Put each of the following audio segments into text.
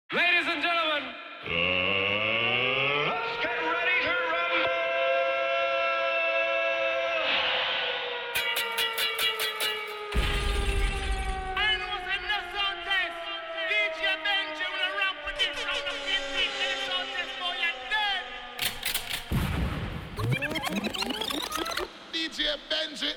Ladies and gentlemen, let's get ready to rumble! I know what's in the sound test. DJ Benji will rap with this round of 15 minutes sound test for you dead. DJ Benji.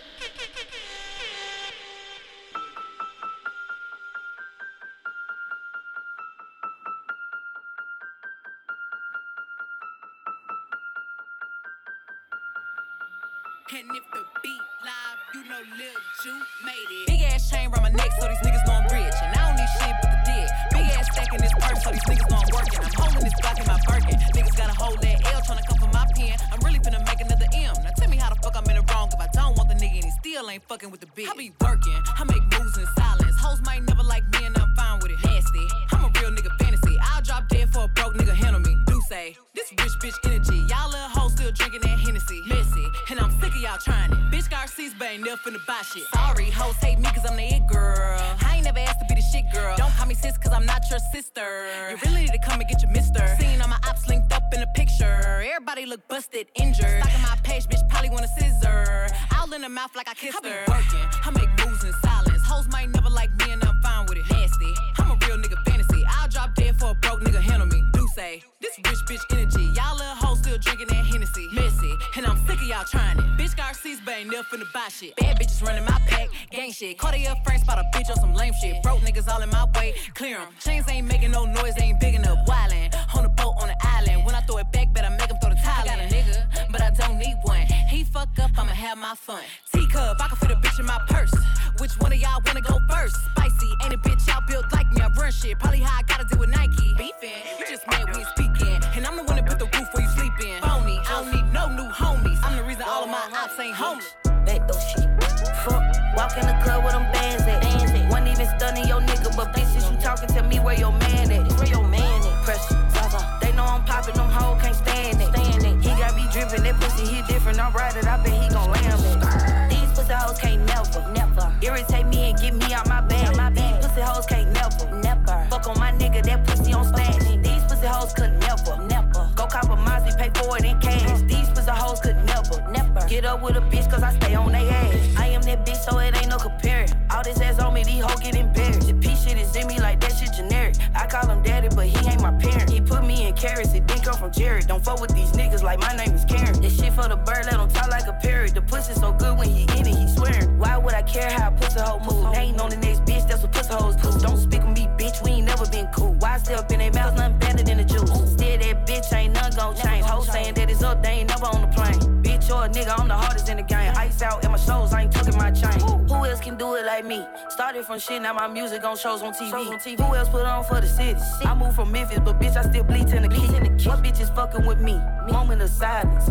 And if the beat live, you know Lil Ju made it. Big ass chain round my neck, so these niggas know I'm rich. And I don't need shit but the dick. Big ass stack in this purse, so these niggas know I'm working. I'm holding this block in my Birkin. Niggas gotta hold that L, tryna come for my pen. I'm really finna make another M. Now tell me how the fuck I'm in the wrong if I don't want the nigga and he still ain't fucking with the bitch. I be working, I make moves in silence. Hoes might never like me and I'm fine with it. Nasty, I'm a real nigga fantasy. I'll drop dead for a broke nigga handle me. Do say, this rich bitch energy. Y'all little hoes still drinking that Hennessy. Messy, and I'm sick of y'all trying it. Bitch got receipts, but ain't never finna buy shit. Sorry, hoes hate me cause I'm the it girl. I ain't never asked to be the shit girl. Don't call me sis cause I'm not your sister. You really need to come and get your mister. Seen all my ops linked up in a picture. Everybody look busted, injured. Stalking my page, bitch probably want a scissor. All in the mouth like I kissed her. I be working, I make moves in silence. Hoes might never like me and I'm fine with it. Nasty, I'm a real nigga fantasy. I'll drop dead for a broke nigga handle me. Do say, this rich bitch energy. Y'all little hoes still drinking that Hennessy. Messy, and I'm sick of y'all trying it. Bitch got receipts, but ain't never finna buy shit. Bad bitches running my pack, gang shit. Cartier friends spot a bitch on some lame shit. Broke niggas all in my way, clear 'em. Chains ain't making no noise, ain't big enough. Wildin', on the boat on the island. When I throw it back, better make 'em throw the tile. I got a nigga, but I don't need one. He fuck up, I'ma have my fun. Teacup, I can fit a bitch in my purse. Which one of y'all wanna go first? Spicy, ain't a bitch y'all built like me. I run shit, probably how I gotta deal with Nike. Beefin', you just mad we ain't speaking. And I'm the one that put the roof where you sleep in. Phony, I don't need no new homies. I'm the reason all of my ops ain't homeless. Back those shit. Fuck, walk in the club with them bands at. Wasn't even stunning your nigga, but bitches you talking, tell me where your man at. Where your man at? Pressure, they know I'm popping, them hoes can't stand it. He got me drippin', that pussy he different. I'm right it, I bet he gon' lam it. These pussy hoes can't never irritate me and get me out my bag. These pussy hoes can't never fuck on my nigga, that pussy on stash. These pussy hoes could never go cop a Mozzie, pay for it in cash. These pussy hoes could never get up with a bitch cause I stay on they ass. I am that bitch so it ain't no comparing. All this ass on me, these hoes get embarrassed. The P shit is in me like that shit generic. I call him daddy but he ain't my parent. He put me in carrots, it didn't come from Jared. Don't fuck with these niggas like my name is Karen. This shit for the bird, let him talk like a parrot. The pussy so good when he in it, he swearing. Why would I care how a pussy hoe move? They ain't on the next bitch, that's what pussy hoes do. Don't speak with me, bitch, we ain't never been cool. Why stay up in their mouth, nothing better than the juice. Still that bitch, ain't nothing gon' change. Hoes saying that it's up, they ain't never on the plane. Bitch or a nigga, I'm the hardest in the game. Ice out in my shows, I ain't tucking my chain. Who else can do it like me? Started from shit, now my music on shows on TV. Who else put on for the city? I moved from Memphis, but bitch, I still bleed in the key. What bitch is fucking with me? Moment of silence.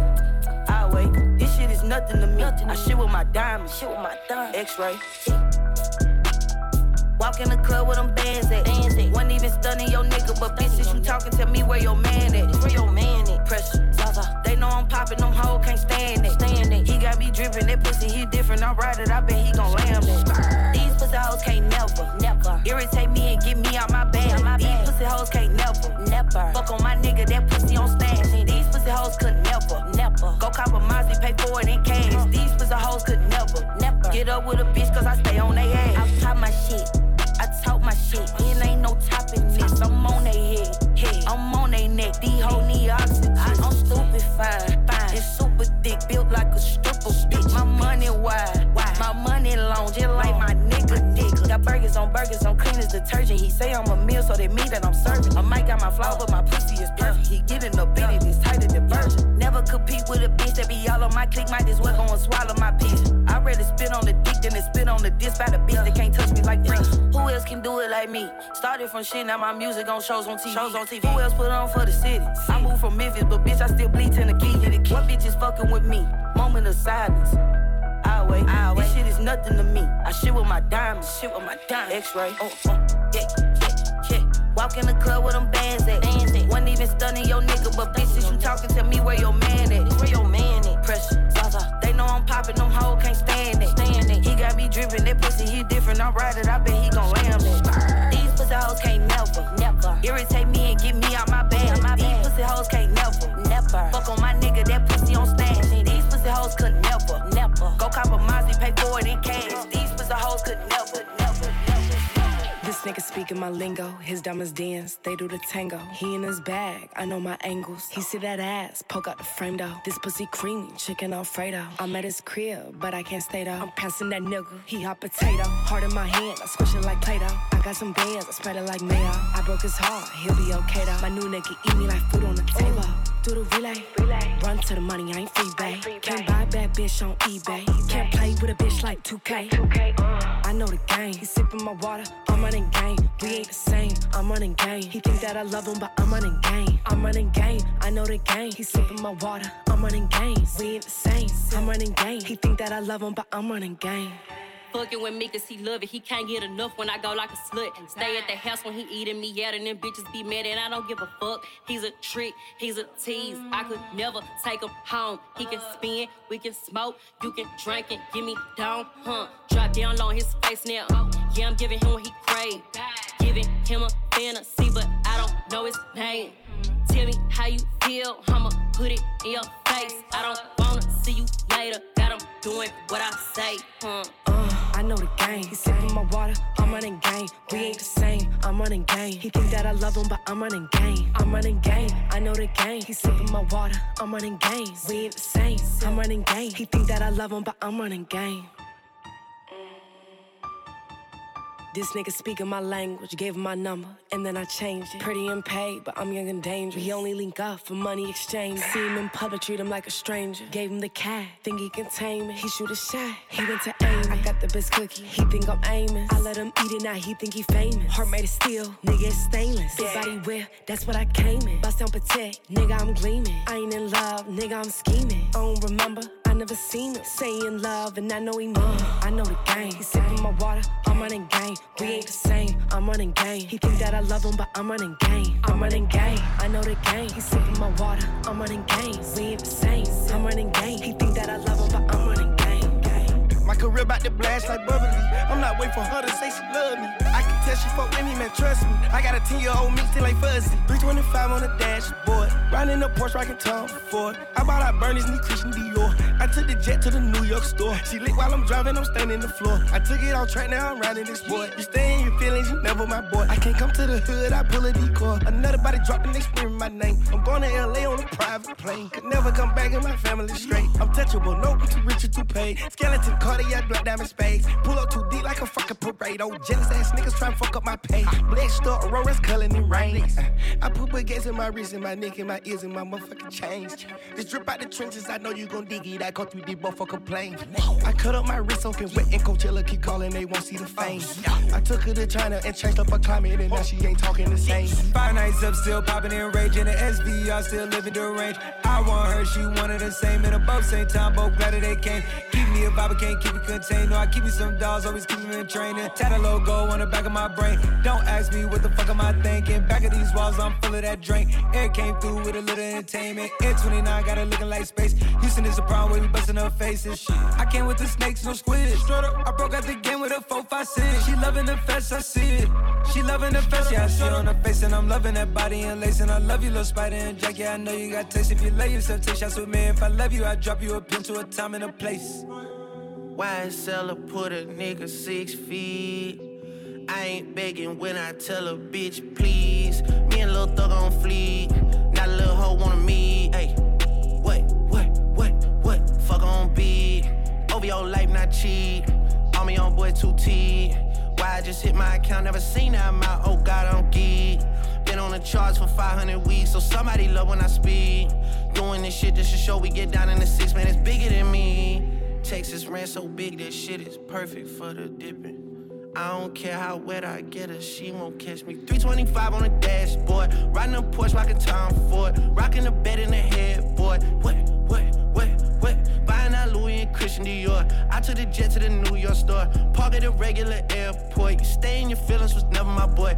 I wait, this shit is nothing to me. I shit with my diamonds, X-ray. Walk in the club with them bands at. Wasn't even stunning your nigga, but bitches you talking, tell me where your man at. Pressure, they know I'm popping, them hoes can't stand it. He got me drippin', that pussy he different. I'm right it, I bet he gon' lam it. These pussy hoes can't never irritate me and get me out my bag. These pussy hoes can't never fuck on my nigga, that pussy on stash. These pussy hoes could never go cop a Mozzie, pay for it in cash. These pussy hoes could never get up with a bitch cause I stay on they ass. I pop my shit, I talk my shit, and ain't no topping this. I'm on they head, I'm on they neck. These hoes need oxygen. I'm stupid fine, and super thick, built like a stripper bitch. My money wide, my money long, just like my nigga dick. Got burgers on clean as detergent. He say I'm a meal, so they mean that I'm serving. I might got my flaw, but my pussy is perfect. He getting up in it, it's tighter than virgin. Never compete with a bitch that be all on my clique. Might as well go and swallow my piece. I'd rather spit on the dick than to spit on the disc by the bitch that can't touch me like Prince. Who else can do it like me? Started from shit, now my music on shows on TV. Who else put on for the city? I moved from Memphis, but bitch, I still bleed in the key. What bitch is fucking with me? Moment of silence. I wait. This shit is nothing to me. I shit with my diamonds, X-ray. Yeah. Walk in the club with them bands at. Wasn't even stunning your nigga, but bitches you talking, tell me where your man at. Pressure, they know I'm popping, them hoes can't stand it. He got me drippin', that pussy he different. I'm right it, I bet he gon' lam it. These pussy hoes can't never irritate me speaking my lingo. His diamonds dance, they do the tango. He in his bag, I know my angles. He see that ass, poke out the frame though. This pussy creamy, chicken Alfredo. I'm at his crib, but I can't stay though. I'm passing that nigga, he hot potato. Heart in my hand, I squish it like Play-Doh. I got some bands, I spread it like mayo. I broke his heart, he'll be okay though. My new nigga eat me like food on the table. Do the relay. Run to the money, I ain't free, babe. Can't buy a bad bitch on eBay. Can't play with a bitch like 2K. I know the game. He sipping my water, I'm running game. We ain't the same, I'm running game. He think that I love him, but I'm running game. I'm running game, I know the game. He sipping my water, I'm running game. We ain't the same, I'm running game. He think that I love him, but I'm running game. Fucking with me cause he love it. He can't get enough when I go like a slut. Stay at the house when he eating me out and them bitches be mad and I don't give a fuck. He's a trick, he's a tease. I could never take him home. He can spin, we can smoke, you can drink and give me down, Drop down low on his face now. Yeah, I'm giving him what he crave. Giving him a fantasy, but I don't know his name. Tell me how you feel, I'ma put it in your face. I don't wanna see you later. Got him doing what I say, I know the game. He sipping my water, I'm running game. We ain't the same, I'm running game. He think that I love him, but I'm running game. I'm running game, I know the game. He sipping my water, I'm running game. We ain't the same, I'm running game. He think that I love him, but I'm running game. This nigga speaking my language, gave him my number, and then I changed it. Pretty and paid, but I'm young and dangerous. We only link up for money exchange. See him in public, treat him like a stranger. Gave him the cat, think he can tame it. He shoot a shot, he went to aim. I got the best cookie, he think I'm aiming. I let him eat it, now he think he famous. Heart made of steel, nigga it's stainless. Big body whip, that's what I came in. Bust down protect, nigga I'm gleaming. I ain't in love, nigga I'm scheming. I don't remember, I never seen it. Say in love, and I know he mean. I know the game, he sipping my water, I'm running game. We ain't the same, I'm running game. He think that I love him, but I'm running game. I'm running game, I know the game. He sipping my water, I'm running game. We ain't the same, I'm running game. He think that I love him, but I'm running game. My career about to blast like bubbly. I'm not waiting for her to say she love me. I can tell she fuck with me, man, trust me. I got a 10-year-old me still ain't fuzzy. 325 on the dashboard, riding the Porsche, rockin' Tom Ford. I bought out Bernie's new Christian Dior. I took the jet to the New York store. She lit while I'm driving, I'm standing the floor. I took it off track, now I'm riding this boy. You stay in your feelings, you never my boy. I can't come to the hood, I pull a decoy. Another body dropping, they screaming my name. I'm going to LA on a private plane. Could never come back and my family straight. I'm touchable, no, I'm too rich or too paid. Skeleton Cartier, black diamond spades. Pull up too deep like a fucking parade. Old jealous ass niggas try to fuck up my pay. Blessed up, Aurora's culling in rain. I put baguettes in my wrist and my neck and my ears and my motherfucking chains. This drip out the trenches, I know you gon' dig it. I go through the motherfucking plane. I cut up my wrist soaking wet and Coachella keep calling, they won't see the fame. I took her to China and changed up her climate and now she ain't talking the same. 5 nights up, still popping and raging. The SVR still living the range. I want her, she wanted the same. And above same time, both glad that they came. Keep me a vibe, I can't keep it contained. No, I keep me some dolls, always keep me in training. Tat a logo on the back of my brain. Don't ask me what the fuck am I thinking. Back of these walls, I'm full of that drink. Air came through with a little entertainment. Air 29 got her looking like space. Houston is a problem where we busting her faces. Shit. I came with the snakes, no squid. Straight up, I broke out the game with a 4-5-6. She loving the fest, I see it. She loving the fest, yeah, I see it on her face. And I'm loving that body and lace. And I love you, little Spider and Jack. Yeah, I know you got taste. If you love yourself, take shots with me. If I love you, I drop you a pin to a time and a place. YSL put a nigga 6 feet. I ain't begging when I tell a bitch please. Me and Lil Thug on fleek. Not a little hoe wanna meet. Ay, what? Fuck on beat. Over your life, not cheap. On me on boy 2T. Why I just hit my account, never seen that amount. Oh God, I'm geek. Been on the charts for 500 weeks, so somebody love when I speak. Doing this shit just to show we get down in the 6, man, it's bigger than me. Texas ran so big, that shit is perfect for the dipping. I don't care how wet I get her, she won't catch me. 325 on the dashboard, riding a Porsche, rockin' Tom Ford, rocking the bed in the headboard. What? Buying out Louis and Christian Dior. I took the jet to the New York store, park at a regular airport. You stay in your feelings, was never my boy.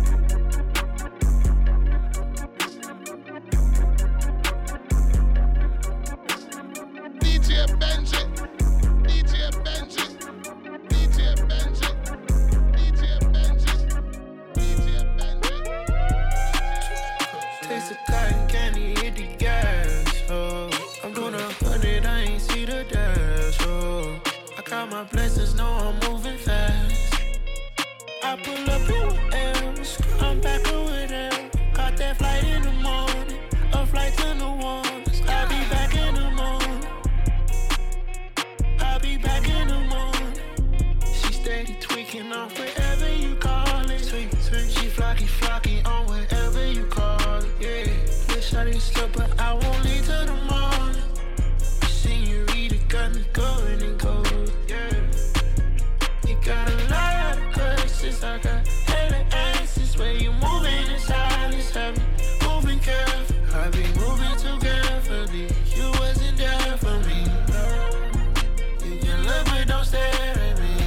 DJ Benji. Taste of cotton candy, hit the gas, oh. I'm doing 100, I ain't see the dash, oh. I count my blessings, know I'm moving fast. I pull up in flocky on whatever you call it, yeah. Wish I didn't sleep, but I won't leave till the morning. Senorita got me going and going, yeah. You got a lot of questions, I got hella answers. Where you moving in silence, have me moving careful. I be moving too carefully. You wasn't there for me. You can look but don't stare at me.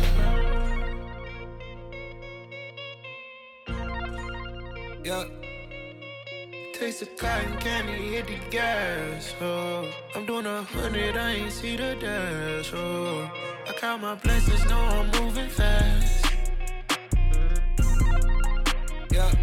Yeah. Taste the cotton candy, hit the gas, oh. I'm doing 100, I ain't see the dash, oh. I count my blessings, know I'm moving fast. Yeah.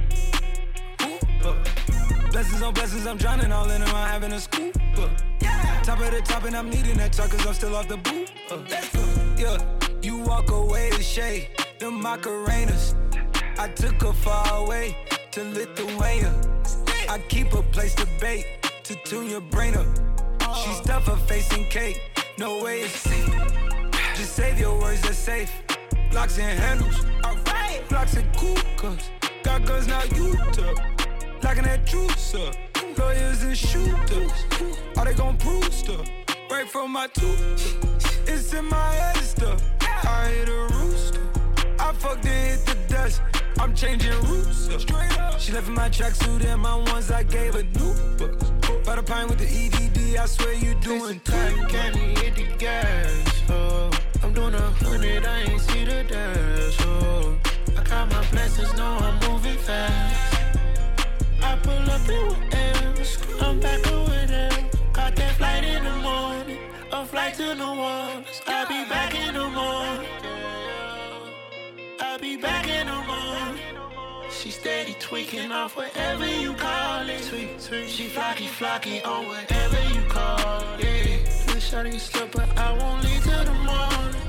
Blessings on blessings, I'm drowning all in them, I'm having a scoop. Top of the top and I'm needing that truck cause I'm still off the boot. Yeah, you walk away to shade, them Macarenas. I took her far away to Lithuania. I keep a place to bake, to tune your brain up. She stuff her face in cake, no way it's safe. Just save your words, they're safe. Locks and handles, alright. Blocks and cool cups, got guns now you took. Locking that juice up, lawyers and shooters. Are they gon' prove stuff? Right from my tooth, it's in my head stuff. I hit a rooster, I fucked and hit the dust. I'm changing routes up. She left in my tracksuit and my ones I gave her new books. By the pine with the EDD, I swear you doing cotton candy, hit the gas, oh. I'm doing 100, I ain't see the dash, oh. I count my blessings, know I'm moving fast. I pull up in whatever, I'm back over there. Caught that flight in the morning, a flight to New Orleans. I'll be back in the morning. I'll be back in the morning. She steady tweaking off whatever you call it. Tweak. She flocky on whatever you call it. Yeah. Wish I didn't sleep, but I won't leave till the morning.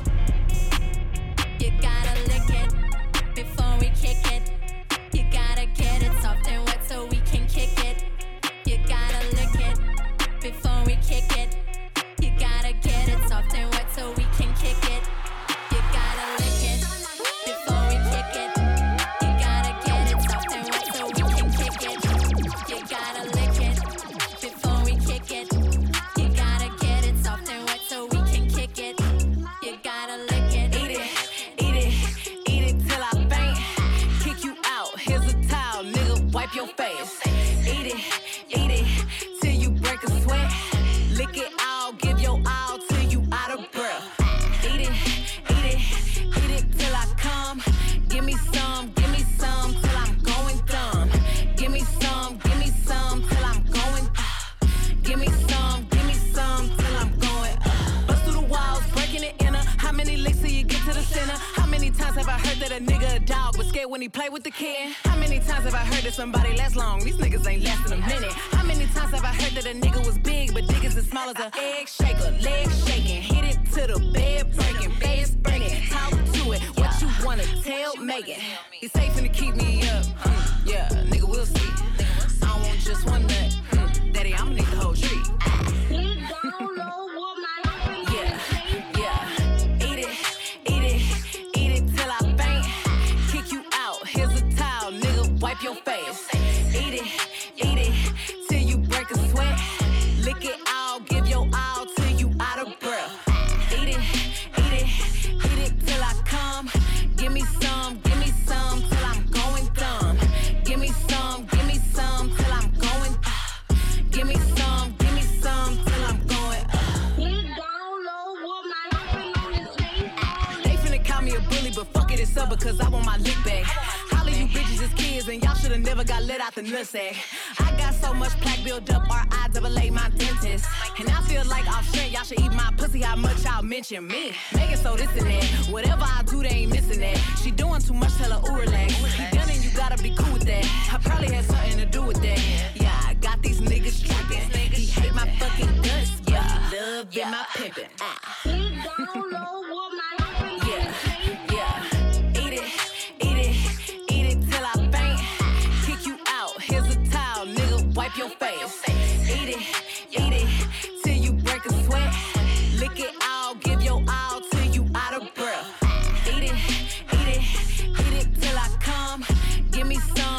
You gotta lick it before we kick it. You gotta get it soft and wet so we can kick it. You gotta lick it before we kick it. You gotta get it soft and wet so we can kick it. You gotta lick it before we kick it. You gotta get it soft and wet so we can kick it. You gotta lick it before we kick it. You gotta get it soft and wet so we can kick it. You gotta lick it. Eat it till I faint. Kick you out. Here's a towel, nigga. Wipe your face. Eat it till you break a sweat. Lick it all, give your all till you out of breath. Eat it till I come. Give me some till I'm going dumb. Give me some till I'm going. Give me some till I'm going. Bust through the walls, breaking it inner. How many licks till you get to the center? How many times have I heard that a nigga a dog was scared when he play with the kid? How many times have I heard that somebody lasts long? These niggas ain't lasting a minute. How many times have I heard that a nigga was big but dick is as small as a egg shaker? Legs shaking, hit it to the bed breaking, face burning, talk to it. What you wanna tell Megan? He's safe to keep me up. Yeah, nigga, we'll see. I don't want just one nut. Daddy, I'ma need the whole tree. Eat it till I faint. Kick you out. Here's a towel, nigga. Wipe your face. Eat it till you break a sweat. Lick it all, give your all till you out of breath. Eat it till I come. Give me some till I'm going dumb. Give me some till I'm going. Give me some till I'm going. They finna call me a bully, but fuck it, it's up because I want my lick back. Holla, you bitches is kids, and y'all should've never got let out the nutsack. I got so much plaque built up, R.I.AA my dentist. And I feel like off strength, y'all should eat my pussy, how much y'all mention me. Make it so this and that, whatever I do, they ain't missing that. She doing too much, tell her, ooh, relax. You done and you gotta be cool with that. I probably had something to do with that. Yeah, I got these niggas tripping. He hate my fucking guts, but he love my pimpin'. Eat it till I faint. Kick you out. Here's a towel, nigga. Wipe your face. Eat it till you break a sweat. Lick it all, give your all till you out of breath. Eat it till I come. Give me some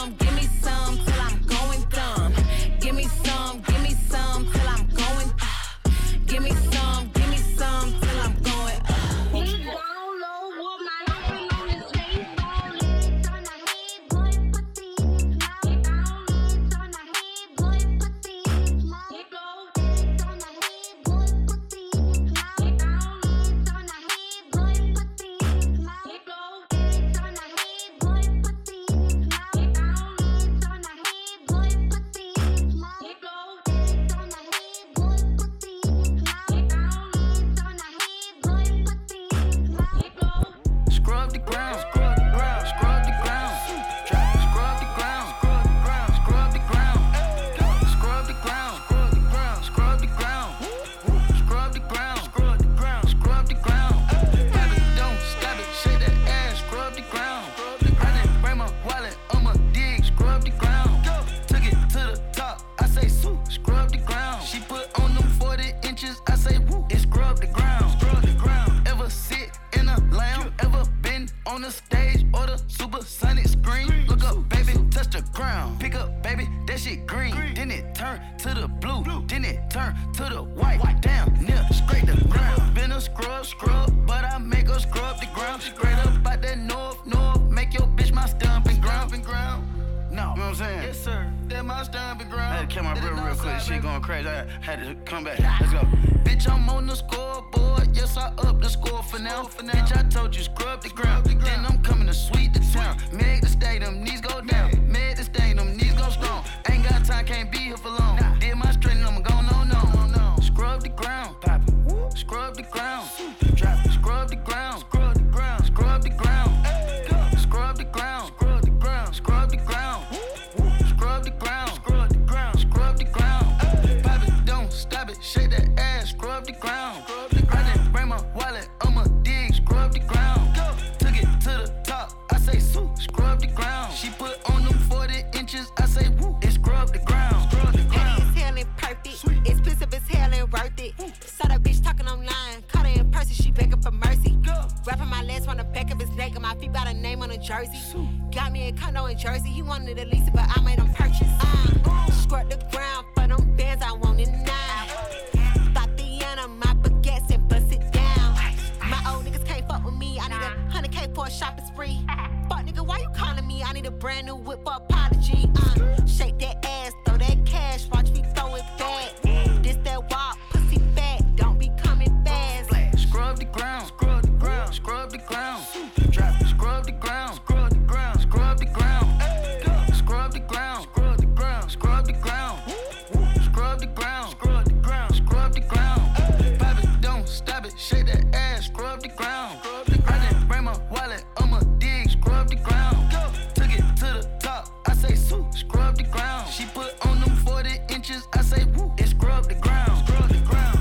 turn to the blue, then it turn to the white. Damn, near straight the ground. Been a scrub, but I make her scrub the ground. Straight up out that north, make your bitch my stomping ground. No, you know what I'm saying? Yes, sir. That my stomping ground. I had to kill my real quick. Shit going crazy. I had to come back. Let's go. Bitch, I'm on the scoreboard. Yes, I up the score for now. Bitch, I told you scrub the ground. Then I'm coming to sweep the town. Make the stadium, knees go down. Make the stadium, knees go strong. Ain't got time, can't be here for long. Did my straighten, I'm gon' no. Scrub the ground. Scrub the ground. Scrub the ground. Scrub the ground. Scrub the ground. Scrub the ground. Scrub the ground. Scrub the ground. Scrub the ground. Scrub the ground. Scrub the ground. Pop it, don't stop it. Shake that ass. Scrub the ground. I didn't bring my wallet. I'ma dig. Scrub the ground. Took it to the top. I say, scrub the ground. She put on them 40 inches. I say, woo. It scrub the ground. Scrub the ground. It's hell and perfect. Expensive as hell and worth it. Saw that bitch talking online. Caught her in person. She begging for mercy. Wrapping my legs on the back of his neck and my feet got a name on a jersey. Got me a condo in Jersey. He wanted to lease it, but I made him purchase. Scrub the ground for them bands. I want it now. Tatiana, my baguettes and bust it down. My old niggas can't fuck with me. I need a 100K for a shopping spree. Fuck nigga, why you calling me? I need a brand new whip for apology. Shake that ass, throw that cash, watch me throw it back. This that walk, pussy fat, don't be coming fast. Scrub the ground. Scrub the ground. Scrub the ground. Scrub the ground. Scrub the ground. Scrub the ground. Scrub the ground. Scrub the ground. Scrub the ground. Scrub the ground. Scrub the ground. Scrub the ground. Pop it, don't stop it. Shake that ass. Scrub the ground. I didn't bring my wallet. I'ma dig. Scrub the ground. Took it to the top. I say, scrub the ground. She put on them 40 inches. I say, woo. It scrub the ground. Scrub the ground.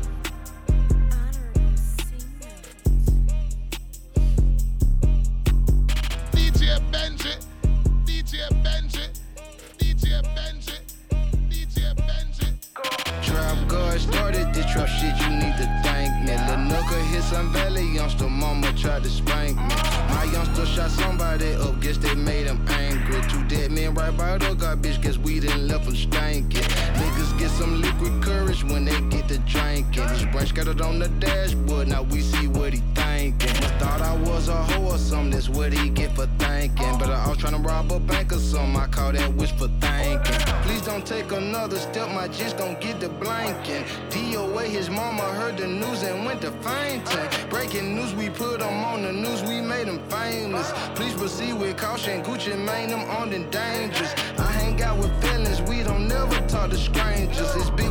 DJ Benji, DJ Benji, DJ Benji, DJ Benji. Trap God started this trap shit, you need to thank me. Lil' Nooka hit some valley youngster, mama tried to spank me. My youngster shot somebody up, guess they made him angry. Two dead men right by the garbage, guess we didn't left them stankin'. Niggas get some liquid courage when they get to drinking. His brain scattered on the dashboard, now we see what he thinking. Thought I was a hoe or something, that's what he get for thinking. But I was tryna rob a bank or something, I call that wish for thinking. Please don't take another step, my just gon' get the blanking. DOA, his mama heard the news and went to fainting. Breaking news, we put him on the news, we made him famous. Please proceed with caution, Gucci made them armed and dangerous. I hang out with feelings, we don't never talk to strangers. It's big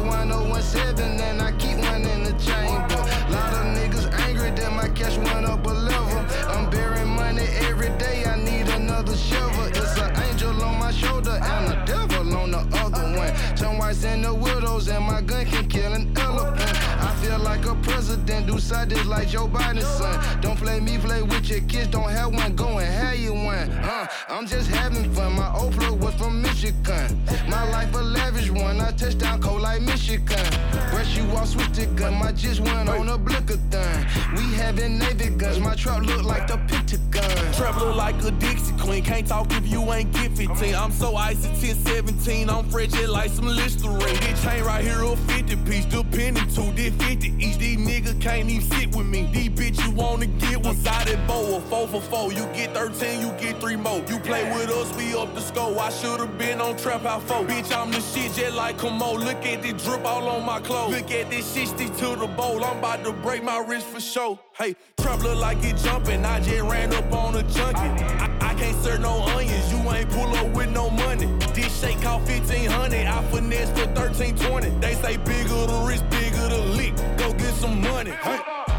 1017 and I keep one in the chamber. Lot of niggas angry that my cash went up a level. I'm burying money every day, I need another shovel. It's an angel on my shoulder and a devil on the other one. Some whites and the widows and my gun can kill an elephant. I feel like a president, do side this like Joe Biden's son. Don't play me, play with your kids, don't have one, go and have you one. I'm just having fun, my old plug was from Michigan. My life a lavish one, I touch down cold like Michigan. Brush you off, switch the gun, my just went on a blicker-thon. We having Navy guns, my trap look like the Pentagon. Trap look like a Dixie Queen, can't talk if you ain't get 15. I'm so icy 10-17, I'm frigid like some Listerine. This chain right here a 50 piece, depending to this 50 each. These niggas can't even sit with me. These bitch you wanna get one sided bow, a 4 for 4. You get 13, you get 3 more. You play with us, we up the score. I should've been on Trap House 4. Bitch, I'm the shit just like Kamo. Look at this drip all on my clothes. Look at this shit stick to the bowl. I'm about to break my wrist for sure. Hey, Trap look like it jumping. I just ran up on a junkie. I can't serve no onions. You ain't pull up with no money. This shake cost 1500. I finesse for 1320. They say bigger the wrist, bigger the lick. Go get some money. Hey.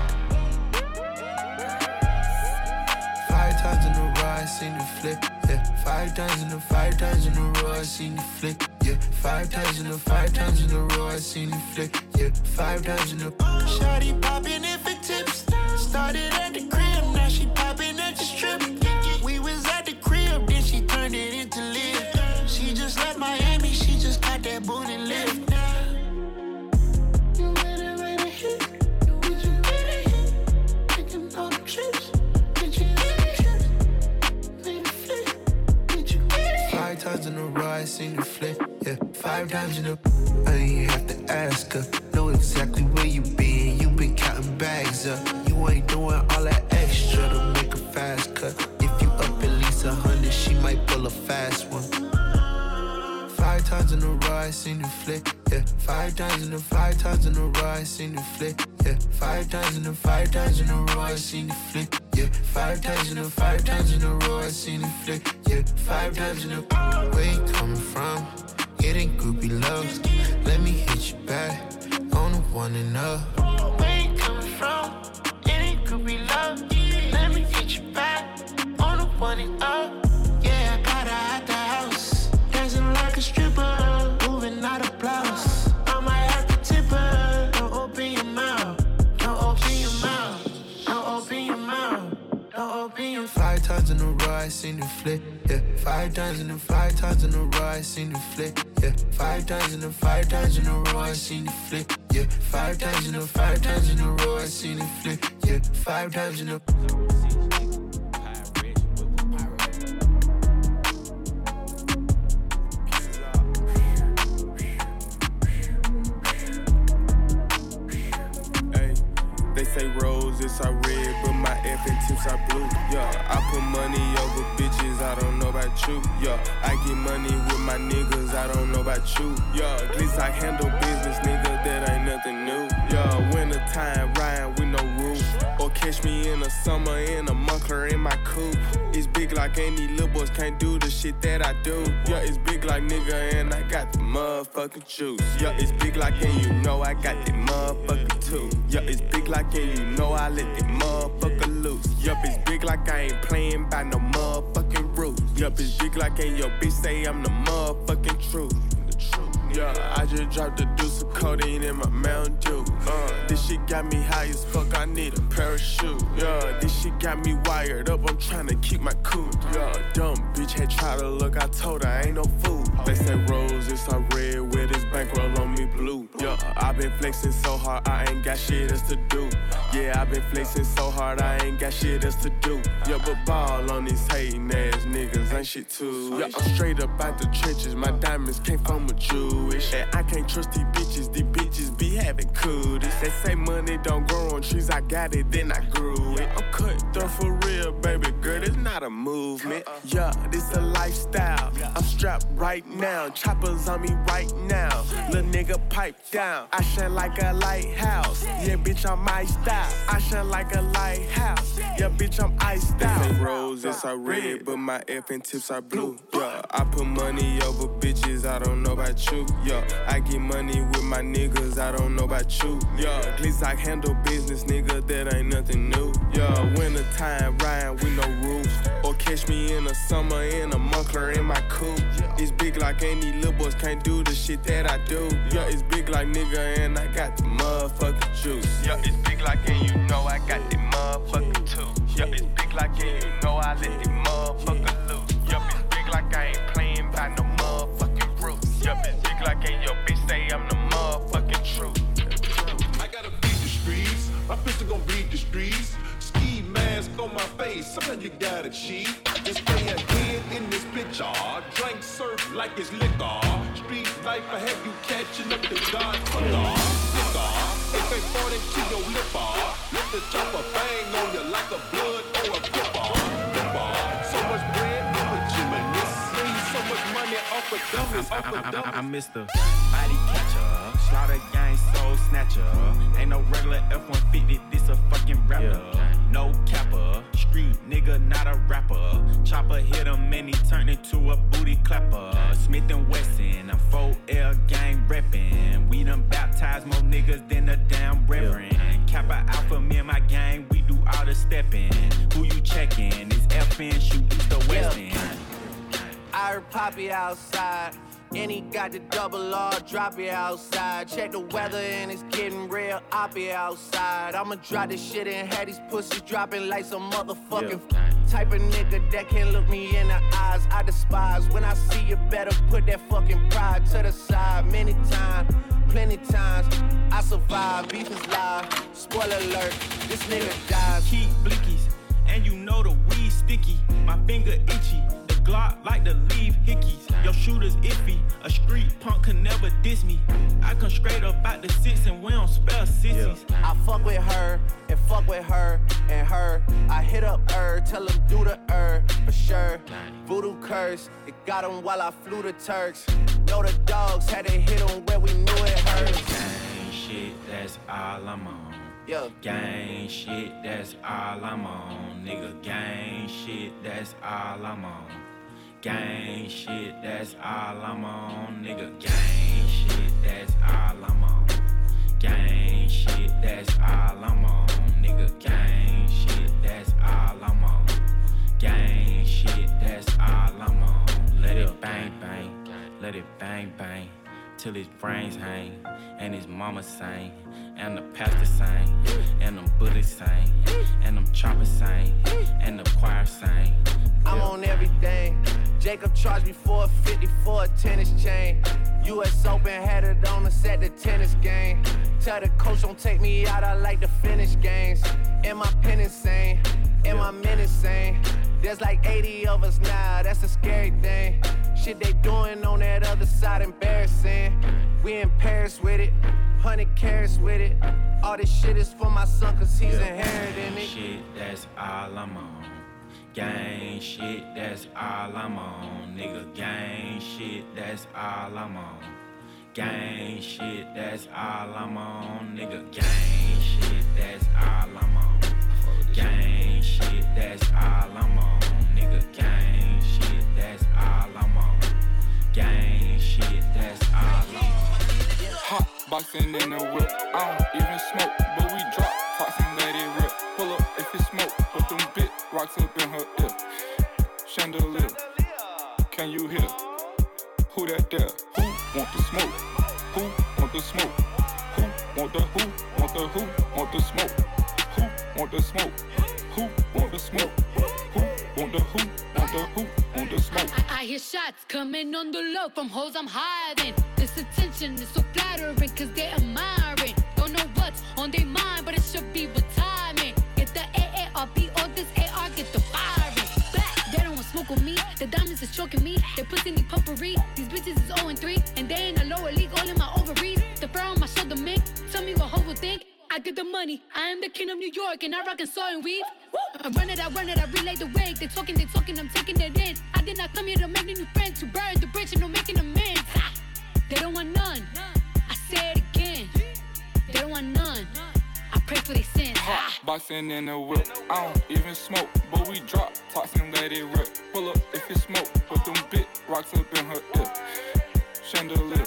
5 times in a row, I seen you flip. Yeah, 5 times in a 5 times in a row, I seen you flick. Yeah, 5 times in a 5 times in a row, I seen you flick. Yeah, 5 times in a. Shawty poppin' it for tips. Started at the crib, now she poppin' at the strip. We was at the crib, then she turned it into live. She just left Miami, she just got that booty lift. You better wait a hit. Did you get a hit? Taking all the trips. Did you get a hit? Made a flip. Did you get a hit? 5 times in in a row, I seen you flip. Yeah, 5 times in a. I ain't have to ask her. Know exactly where you been. You been counting bags up. You ain't doing all that extra to make a fast cut. If you up at least 100, she might pull a fast one. 5 times in a row, I seen you flip. Yeah, 5 times in a row, I seen you flip. Yeah, 5 times in a row, I seen you flip. Yeah, 5 times in a row, I seen you flip. Yeah, 5 times in a. Where you coming from? It ain't groupie love. Let me hit you back on the one and up. Where you coming from? It ain't groupie love. Let me hit you back on the one and up. Yeah, I got her out the house, dancing like a stripper, moving out of blouse. I might have to tip her. Don't open your mouth. Don't open your mouth. Don't open your mouth. Don't open your. 5 times in a row, I seen you flip. Yeah, 5 times in a row, I seen you flip. Yeah, 5 times in a row, I seen you flip. Yeah, 5 times in a row, I seen you flip. Yeah, 5 times in a. They say roses are red, but my effing tips are blue. Yeah, I put money over bitches, I don't know about you. Yeah, I get money with my niggas, I don't know about you. Yeah, at least I handle business, nigga, that ain't nothing new. Yeah, winter time, riding with no roof. Or catch me in the summer in a muffler in my coupe. It's big like any little boys can't do the shit that I do. Yeah, it's big like nigga and I got the motherfucking juice. Yeah, it's big like and you know I got that motherfucking too. Yeah, it's big like and you know I let that motherfucker loose. Yup, it's big like I ain't playing by no motherfucking rules. Yup, it's big like and your bitch say I'm the motherfucking truth. Yeah, I just dropped a deuce of codeine in my Mountain Dew. This shit got me high as fuck, I need a parachute. Yeah, this shit got me wired up, I'm tryna keep my cool. Yeah, dumb bitch had tried to look, I told her I ain't no fool. They say roses are red with this bankroll on me blue. Yeah, I been flexing so hard, I ain't got shit else to do. Yeah, I been flexing so hard, I ain't got shit else to do. Yeah, but ball on these hating ass niggas ain't shit too. Yeah, I'm straight up out the trenches, my diamonds came from a Jew. And I can't trust these bitches be having cooties. They say money don't grow on trees, I got it, then I grew it. I'm cutthroat for real, baby girl, it's not a movement. Yeah, this a lifestyle, I'm strapped right now, choppers on me right now. Little nigga pipe down, I shine like a lighthouse. Yeah, bitch, I'm iced out, I shine like a lighthouse. Yeah, bitch, I'm iced out. They say roses are red, but my effing tips are blue. Yeah, I put money over bitches, I don't know about you. Yeah, I get money with my niggas, I don't know about you. Yeah, at least I handle business, nigga, that ain't nothing new. Yeah, winter time, riding with no roof. Or catch me in the summer in a muffler in my coupe. It's big like any little boys can't do the shit that I do. Yeah, it's big like nigga and I got the motherfucking juice. Yeah, it's big like and you know I got the motherfucking too. Yeah, it's big like and you know I let the motherfucker loose. Yeah, it's big like I ain't playing by no motherfucking rules. Yeah, it's big like and your bitch say I'm the motherfucking truth. I gotta beat the streets, my pistol gon' beat the streets. Ski mask on my face, sometimes you gotta cheat. Just stay ahead in this picture, drink surf like it's liquor. Street life, I have you catching up the Godfather. Liquor, if they fall into your lipper, let the chopper bang on you like a blood or a flipper. So much bread in the chimney, so much money off of dummies, off of dummies. I'm Mr. Body Catcher, Slaughter Gang Soul Snatcher. Ain't no regular F-150, this a fucking rapper. No capper, street nigga, not a rapper. Chopper hit him and he turned into a booty clapper. Smith & Wesson, I'm 4L gang reppin'. We done baptized more niggas than a damn reverend. Kappa Alpha, me and my gang, we do all the steppin'. Who you checkin'? It's FN, shoot east or west end. I heard Poppy outside, and he got the double R, drop it outside. Check the weather and it's getting real, I'll be outside. I'ma drop this shit and have these pussies dropping like some motherfucking type of nigga that can't look me in the eyes. I despise when I see you, better put that fucking pride to the side. Many times, plenty times, I survive, beef is live. Spoiler alert, this nigga dies. Keep blickies, and you know the weed sticky. My finger itchy. Glock like to leave hickeys. Your shooter's iffy. A street punk can never diss me. I come straight up out the six and we don't spell sissies. I fuck with her and fuck with her and her. I hit up her, tell him do the for sure. Voodoo curse, it got him while I flew the Turks. Know the dogs had to hit him where we knew it hurt. Gang shit, that's all I'm on. Yeah. Gang shit, that's all I'm on. Nigga, gang shit, that's all I'm on. Gang shit, that's all I'm on. Nigga, gang shit, that's all I'm on. Gang shit, that's all I'm on. Nigga, gang shit, that's all I'm on. Gang shit, that's all I'm on. Let it bang bang, let it bang bang, till his brains hang, and his mama sing, and the pastor sing, and them Buddhists sing, and them choppers sing, and the choir sing. I'm on everything. Jacob charged me $450 for a tennis chain. US Open had it on us at the tennis game. Tell the coach don't take me out, I like to finish games. And my pen insane, and my men insane. There's like 80 of us now, that's a scary thing. Shit they doing on that other side, embarrassing. We in Paris with it, 100 carats with it. All this shit is for my son, cause he's inheriting it. Shit, that's all I'm on. Gang shit, that's all I'm on. Nigga, gang shit, that's all I'm on. Gang shit, that's all I'm on. Nigga, gang shit, that's all I'm on. Gang shit, that's all I'm on. Nigga, gang shit, that's all I'm on. Gang shit, that's all I'm on. Hot boxing in the whip, I don't even smoke, but we drop tops and let it rip. Pull up if it smoke, put them big rocks up in her ear. Chandelier, can you hear? Who that there? Who want the smoke? Who want the smoke? Who want the who? Want the who? Want the smoke? Who want the smoke? Who want the smoke? Who want the who? Want the who? Want the smoke? I hear shots coming on the low from hoes I'm hiding. This attention is so flattering cause they're admiring. Don't know what's on their mind, but it should be retirement. Get the AARP or this AR, get the firing. Black, they don't want smoke with me. The diamonds is choking me. They pussy need puffery. These bitches is 0-3, and they in a lower league, all in my ovaries. The fur on my shoulder, man. Tell me what hoe will think. I get the money, I am the king of New York, and I rockin' saw and weave. I run it, I relay the wave. They talking, I'm taking it in. I did not come here to make new friends, to burn the bridge and no making amends. They don't want none, I say it again. They don't want none, I pray for their sins. Hot boxing in the whip, I don't even smoke, but we drop tops and let it rip. Pull up if it smoke, put them big rocks up in her ear. Chandelier,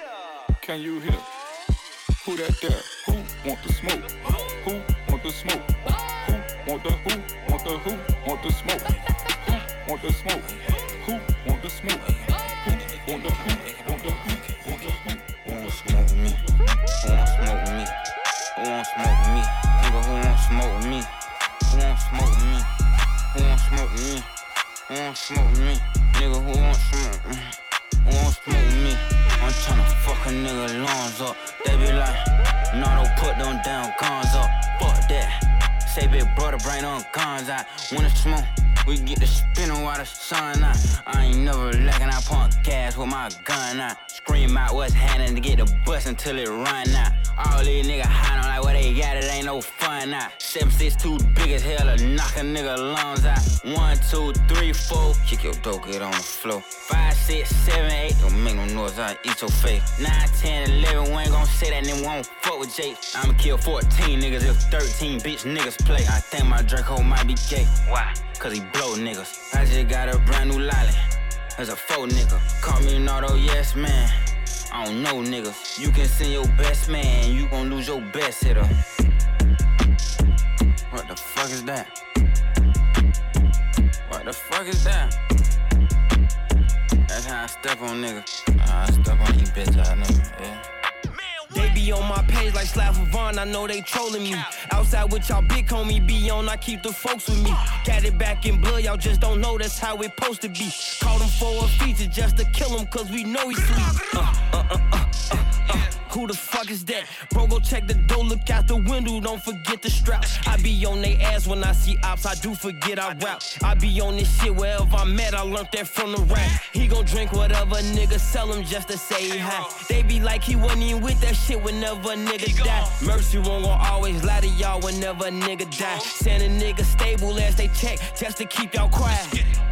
can you hear? Who that there? Who want the smoke? Who want the smoke? Who want the who? Want the who? Want the smoke? Who want the smoke? Who want the smoke? Who want the who? Want the who? Want the who? Who want smoke with me? Who want smoke with me? Who want smoke with me? Nigga, who want smoke with me? Who want smoke with me? Who want smoke with me? Who want smoke with me? Nigga, who want smoke with me? Who want smoke with me? I'm tryna fuck a nigga lungs up. They be like, no, don't put them damn guns up. Fuck that. Say big brother, bring them guns out. When it's smoke, we get the spinning while the sun out. I ain't never lacking, I pump gas with my gun out. Scream out what's happening to get the bus until it run out. All these niggas hiding like what they got, it ain't no fun out. 7'6" big as hell to knock a nigga lungs out. 1, 2, 3, 4, kick your dope, get on the floor. 5, 6, 7, 8, don't make no noise, I'll eat your face. 9, 10, 11, we ain't gon' say that, then we won't fuck with Jake. I'ma kill 14 niggas if 13 bitch niggas play. I think my Draco might be gay. Why? Cause he blow niggas. I just got a brand new lolly. There's a faux nigga. Call me an auto yes man. I don't know niggas. You can send your best man, you gon' lose your best hitter. What the fuck is that? What the fuck is that? That's how I step on niggas. I step on you bitch ass nigga, yeah. They be on my page like Slav Vaughn, I know they trolling me. Outside with y'all big homie be on, I keep the folks with me. Got it back in blood, y'all just don't know that's how it supposed to be. Called him for a feature just to kill him cause we know he's sweet. Who the fuck is that? Bro, go check the door, look out the window, don't forget the strap. I be on they ass when I see ops, I do forget I rap. I be on this shit wherever I'm at, I learned that from the rap. He gon' drink whatever nigga sell him just to say hi. They be like he wasn't even with that shit whenever a nigga die. Mercy won't gon' always lie to y'all whenever a nigga die. Send a nigga stable as they check, just to keep y'all quiet.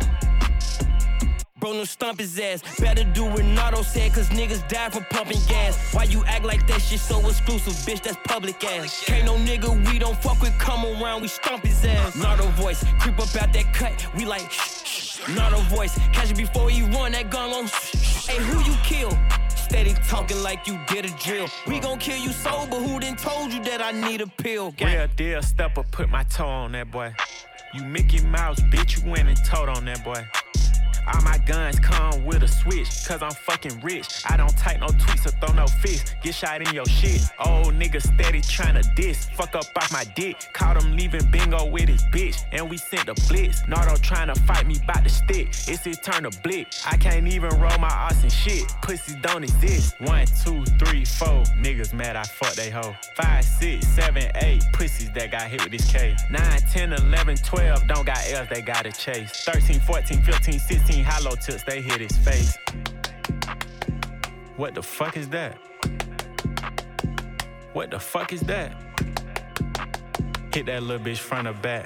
Bro, no stump his ass. Better do what Nardo said, cause niggas die for pumping gas. Why you act like that shit so exclusive, bitch? That's public ass. Can't no nigga we don't fuck with come around, we stomp his ass. Nardo voice, creep up out that cut, we like shh. Nardo voice, catch it before he run that gun on. Hey, who you kill? Steady talking like you did a drill. We gon' kill you sober, who done told you that I need a pill? Real deal stepper, put my toe on that boy. You Mickey Mouse, bitch, you went and told on that boy. All my guns come with a switch, cause I'm fucking rich. I don't type no tweets or throw no fists. Get shot in your shit. Old nigga steady tryna diss. Fuck up off my dick. Caught him leaving bingo with his bitch. And we sent the blitz. Nardo tryna fight me bout the stick. It's his turn to blick. I can't even roll my ass and shit. Pussies don't exist. 1, 2, 3, 4. Niggas mad I fuck they hoe. 5, 6, 7, 8. Pussies that got hit with this K. 9, 10, 11, 12. Don't got L's, they gotta chase. 13, 14, 15, 16. Hollow tips, they hit his face. What the fuck is that? What the fuck is that? Hit that little bitch front or back.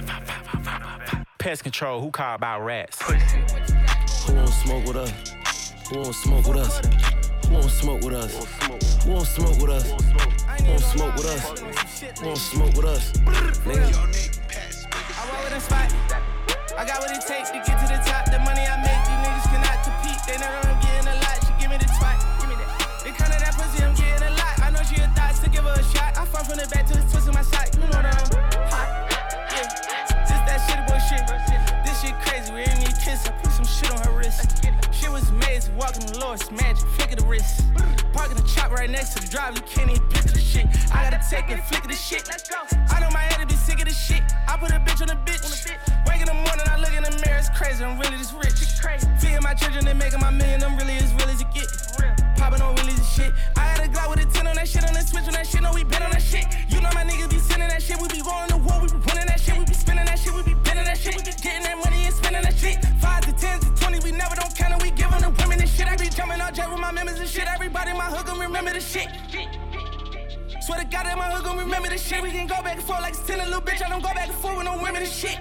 Pest control, who call about rats? Who won't smoke with us? Who won't smoke with us? Who won't smoke with us? Who won't smoke with us? Who won't smoke with us? Who won't smoke with us? Nigga. I roll with a spot. I got what it takes to get to the top. The money I make, these niggas cannot compete. They know that I'm getting a lot. She give me the twat. Give me that. It kinda that pussy, I'm getting a lot. I know she a thought to give her a shot. I fall from the back to the twist of my side. You know that I'm hot. Yeah. Just that shit bullshit. This shit crazy. We ain't need kiss. I put some shit on her wrist. Shit was amazing. Walking the Lord's magic. Flick of the wrist. Parking the chop right next to the drive. You can't even picture the shit. I gotta take it, flick of the shit. I know my head to be sick of this shit. I put a bitch on the bitch. Wake in the morning, I look in the mirror, it's crazy, I'm really this rich. Feeding my children, they making my million, I'm really as real as it get. Popping on wheelies and shit. I had a Glock with a 10 on that shit, on the switch on that shit, no, we been on that shit. You know my niggas be sending that shit, we be going to war, we be winning that shit, we be spending that shit, we be bending that shit, we be getting that money and spending that shit. 5 to 10 to 20, we never don't count it, we giving the women this shit. I be jumping out jet with my members and shit, everybody in my hood gon' remember the shit. Swear to God that my hood gon' remember this shit. We can go back and forth like it's 10, a little bitch, I don't go back and forth with no women and shit.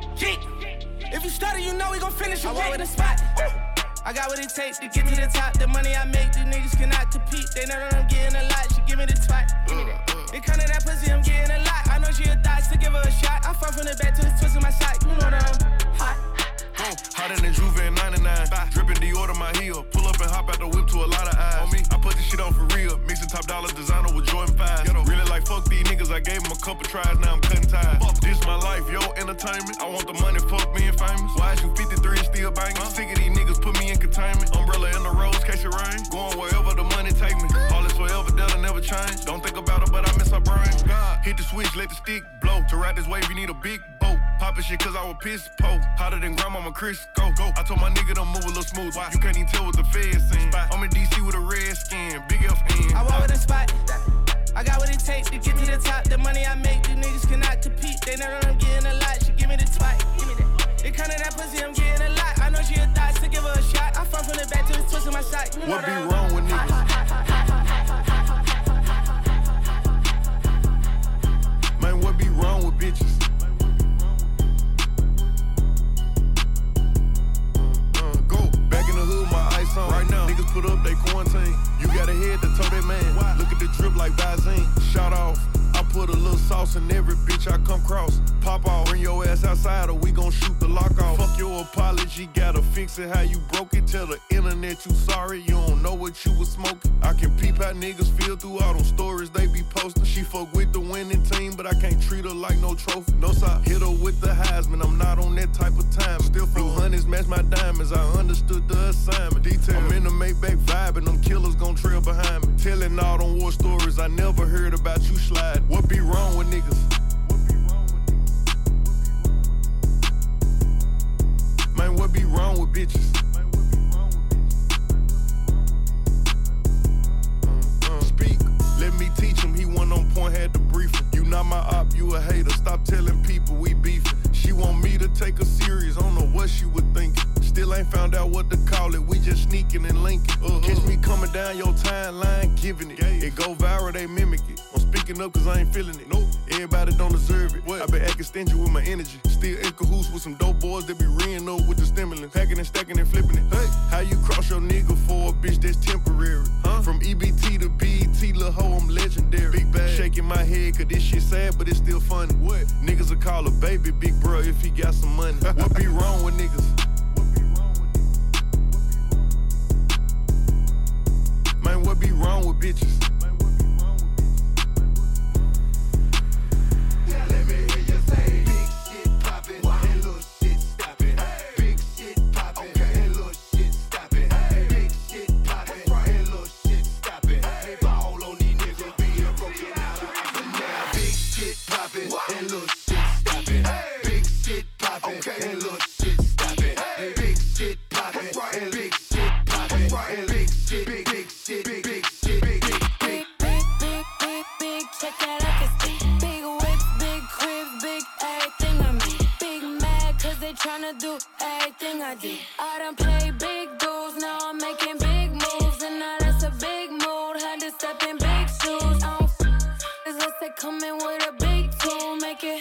If you started, you know we gon' finish. I walk with a spot. I got what it takes to get to the top. The money I make, these niggas cannot compete. They know that I'm getting a lot. She give me the twat. Give me that. It kinda that pussy, I'm getting a lot. I know she a thought to give her a shot. I fall from the back to the twist of my side. You know that I'm hot. Hotter than Juve in 99. Dripping Dior to my heel. Pull up and hop out the whip to a lot of eyes. On me, I put this shit on for real. Mixing top dollar designer with Jordan 5. Really like fuck these niggas. I gave them a couple tries. Now I'm cutting ties. This my life, yo, entertainment. I want the money, fuck being famous. Why is you 53 and still banging? Sick of these niggas, put me in containment. Umbrella in the roads, catch it rain. Going wherever the money take me. All is forever, that'll never change. Don't think about it, but I miss her brain. God, hit the switch, let the stick blow. To ride this wave, you need a big boat. Poppin' shit cause I was pissed, po. Hotter than grandmama Chris, go. I told my nigga to move a little smooth. You can't even tell what the feds seen. I'm in DC with a red skin, big FN. I walk with a spot. I got what it takes to get to the top. The money I make, these niggas cannot compete. They know that I'm getting a lot. She give me the twat. Give me that. It kinda that pussy, I'm getting a lot. I know she a thought to give her a shot. I fall from the back to the twist of my side. You know what be wrong with niggas? Man, what be wrong with bitches? On. Right now, niggas put up they quarantine. You got a head to toe that man. Why? Look at the drip like Visine. Shout off. I put a little sauce in every bitch I come cross. Pop off, bring your ass outside or we gon' shoot the lock off. Fuck your apology, gotta fix it how you broke it. Tell the internet you sorry, you don't know what you was smoking. I can peep how niggas feel through all them stories they be posting. She fuck with the winning team, but I can't treat her like no trophy. No side, hit her with the Heisman, I'm not on that type of time. Still blue honeys match my diamonds, I understood the assignment. Detail, I'm in the Maybach vibe and them killers gon' trail behind me. Telling all them war stories I never heard about you slide. What be wrong with niggas? Man, what be wrong with bitches? Speak. a hater, stop telling people we beefing. She want me to take her serious, I don't know what she would think. Still ain't found out what to call it, we just sneaking and linking. Catch me coming down your timeline, giving it. It go viral, they mimic it. I'm speaking up cause I ain't feeling it. Nope. Everybody don't deserve it. I been acting stingy with my energy. Still in cahoots with some dope boys that be reeing up with the stimulants. Packing and stacking and flipping it. Hey, how you cross your nigga for a bitch that's temporary? Huh? From EBT to BET, lil' hoe, I'm legendary. Big bag. Shaking my head cause this shit sad, but it's still funny. What? Niggas will call a baby big bro if he got some money. What be wrong with niggas? Man, what be wrong with bitches? Yeah, let me hear you say big shit poppin' and little shit stoppin'. Big shit poppin' and little shit stoppin'. Big shit poppin' and little shit stoppin'. Ball on these niggas being broken out of action now. Big shit poppin' and little shit stoppin'. Big shit poppin' and little shit stoppin'. Big shit poppin' and big shit poppin' and big shit, big shit, big shit, big check that I can see. Big whips, big cribs, big everything I mean. Big mad cause they tryna do everything I did. I done played big dudes, now I'm making big moves. And now that's a big mood, had to step in big shoes. I don't unless they come in with a big tool, make it.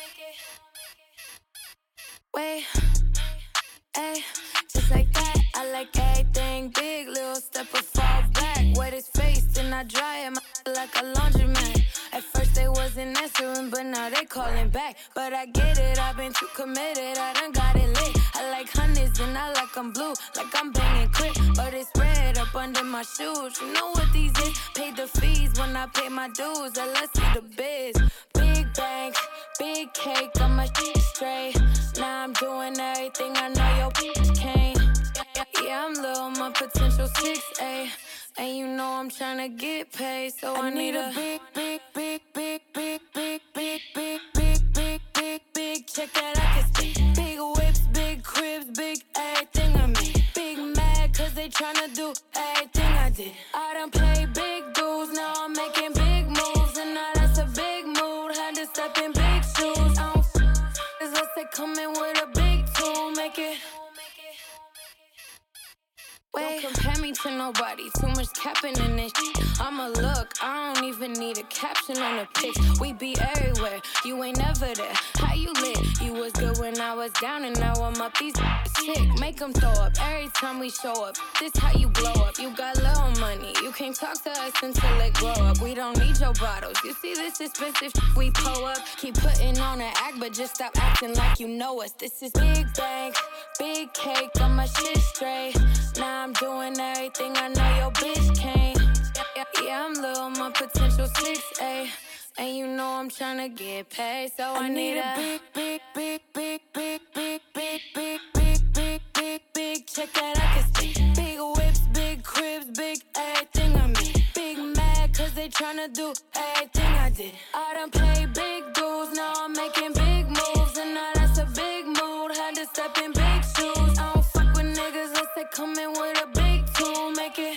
Wait, ayy, just like that. I like everything big, little step or fall back. Wet his face, then I dry him like a laundromat. At first they wasn't answering, but now they calling back. But I get it, I've been too committed, I done got it lit. I like hundreds and I like them blue, like I'm banging quick. But it's red up under my shoes, you know what these is? Paid the fees when I pay my dues, and let's see the biz. Big bank, big cake, got my shit straight. Now I'm doing everything I know your bitch can't. Yeah, I'm low, my potential 6'8", and you know I'm tryna get paid, so I need a big check that I can see. Big whips, big cribs, big everything I mean. Big mad cause they tryna do everything I did. I done played big dudes, now I'm making big moves, and now that's a big mood, had to step in big shoes. I don't unless they come in with a big tool, make it. Wait, don't compare me to nobody, too much capping in this shit. I'ma look, I don't even need a caption on the pics. We be everywhere, you ain't never there. How you lit? You was good when I was down, and now I'm up. These sick, make them throw up every time we show up. This how you blow up, you got little money. You can't talk to us until it grow up. We don't need your bottles, you see this expensive we pull up. Keep putting on an act, but just stop acting like you know us. This is big bank, big cake, got my shit straight. Now I'm doing everything I know your bitch can't. Yeah, I'm little, my potential 6'8", and you know I'm tryna get paid, so I need a big check that I can see. Big whips, big cribs, big everything I mean. Big mad cause they tryna do everything I did. I done played big dudes, now I'm making big moves, and now that's a big mood, had to step in big shoes. I don't fuck with niggas unless they come in with a big tool, make it.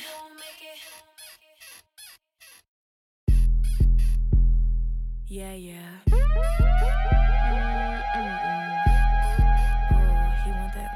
Yeah, yeah. Oh, he want that.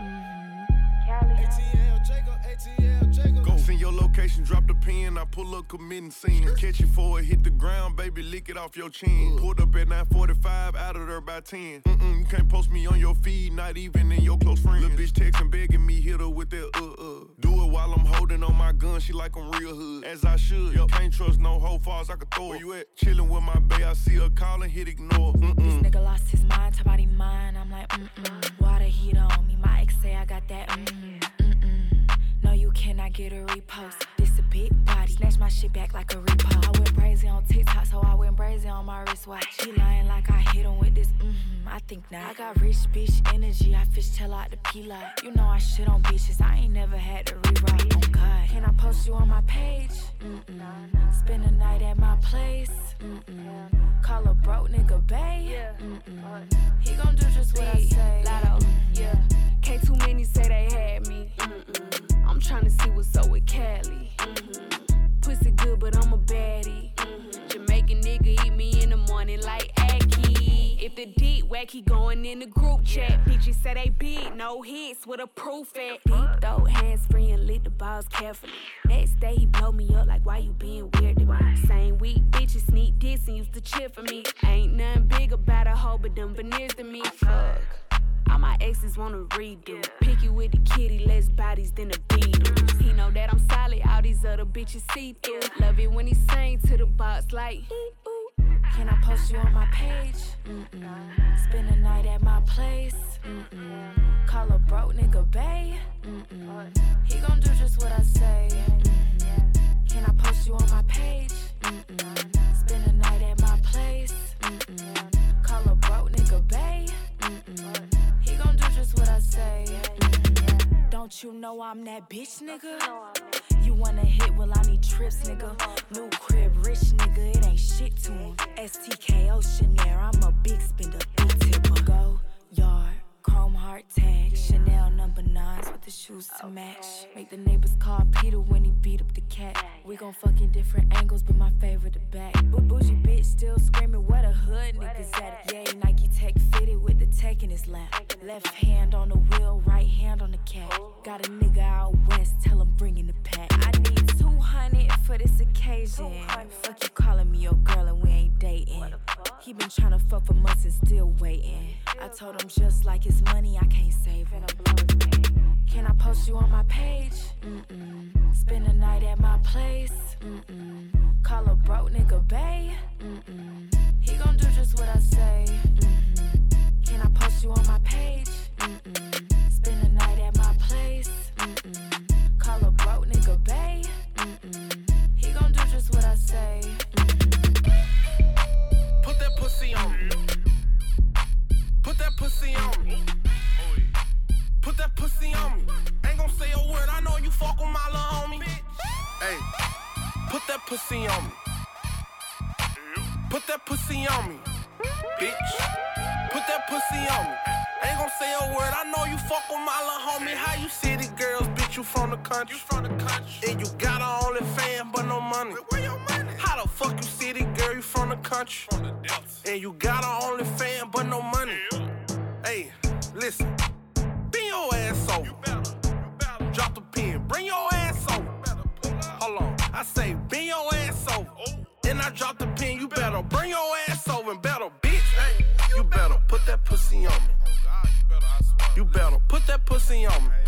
ATL Jacob. Go send your location, drop the pen. I pull up, committing sin. Catch you for it, hit the ground, baby, lick it off your chin. Pulled up at 9:45, out of there by 10. You can't post me on your feed, not even in your close friends. Little bitch texting, begging me, hit her with that Do it while I'm holding on my gun, she like I'm real hood. As I should, can't trust no hoe far as I can throw. Where you at? Chillin' with my bae, I see her calling, hit ignore. This nigga lost his mind, talk about he mine. I'm like, Water heat on me, my ex say I got that, No, you cannot get a repost. This a big body, snatch my shit back like a repo. I went brazy on TikTok, so I went brazy on my wristwatch. She lying like I hit him with this, I think not. I got rich bitch energy, I fishtail out the P-Lot. You know I shit on bitches, I ain't never had to rewrite. Oh God, can I post you on my page? Spend a night at my place? Call a broke nigga bae? He gon' do just what I say. Lotto, Can't too many say they had me. I'm tryna see what's up with Cali. Pussy good, but I'm a baddie. Jamaican nigga eat me in the morning like Aki. a deep whack, he going in the group chat. Bitches say they big, no hits with a proof at. Deep throw, hands free and lit the balls carefully. Next day he blow me up like why you being weird to me. Same week, bitches sneak this and used to cheer for me. Ain't nothing big about a hoe but them veneers to me. Fuck. All my exes wanna redo. Picky with the kitty, less bodies than the Beatles. He know that I'm solid, all these other bitches see through. Love it when he sing to the box like, ooh. Can I post you on my page? Spend the night at my place. Call a broke nigga bae. He gon' do just what I say. Can I post you on my page? Spend the night at my place. Call a broke nigga bae. He gon' do just what I say. Don't you know I'm that bitch, nigga? You wanna hit, well I need trips, nigga. New crib, rich nigga, it ain't shit to him. STKO Chanel, I'm a big spender, big tipper. Go yard, chrome heart tag, Chanel number 9s with the shoes to match. Make the neighbors call Peter when he beat up the cat. We gon' fuck in different angles, but my favorite the back. Bougie bitch still screaming, where the hood niggas at? Yay, Nike Tech fitted with the tech in his lap. Left hand on the wheel, right hand on the cat. Got a nigga out west, tell him bring in the pack. I need 200 for this occasion. Fuck you calling me your girl and we ain't dating. He been tryna fuck for months and still waiting. I told him just like his money, I can't save it. Can I post you on my page? Spend the night at my place. Call a broke nigga bae. He gon' do just what I say. Can I post you on my page? Spend the night at my place. Call a broke nigga bae. He gon' do just what I say. Put that pussy on me. Put that pussy on me. Put that pussy on me. Ain't gon' say a word, I know you fuck with my little homie. Hey, put that pussy on me. Put that pussy on me, bitch. Put that pussy on me. Ain't gon' say a word, I know you fuck with my little homie. How you city girls, bitch, you from the country. And you got a OnlyFans, but no money. Where your money? How the fuck you city girl, you from the country. And you got a OnlyFans, but no money. Hey, listen, bend your ass over. Drop the pen, bring your ass over. Hold on, I say bend your ass over. And I drop the pen, you better bring your ass over and better, bitch. Hey, you better put that pussy on me. You better put that pussy on me.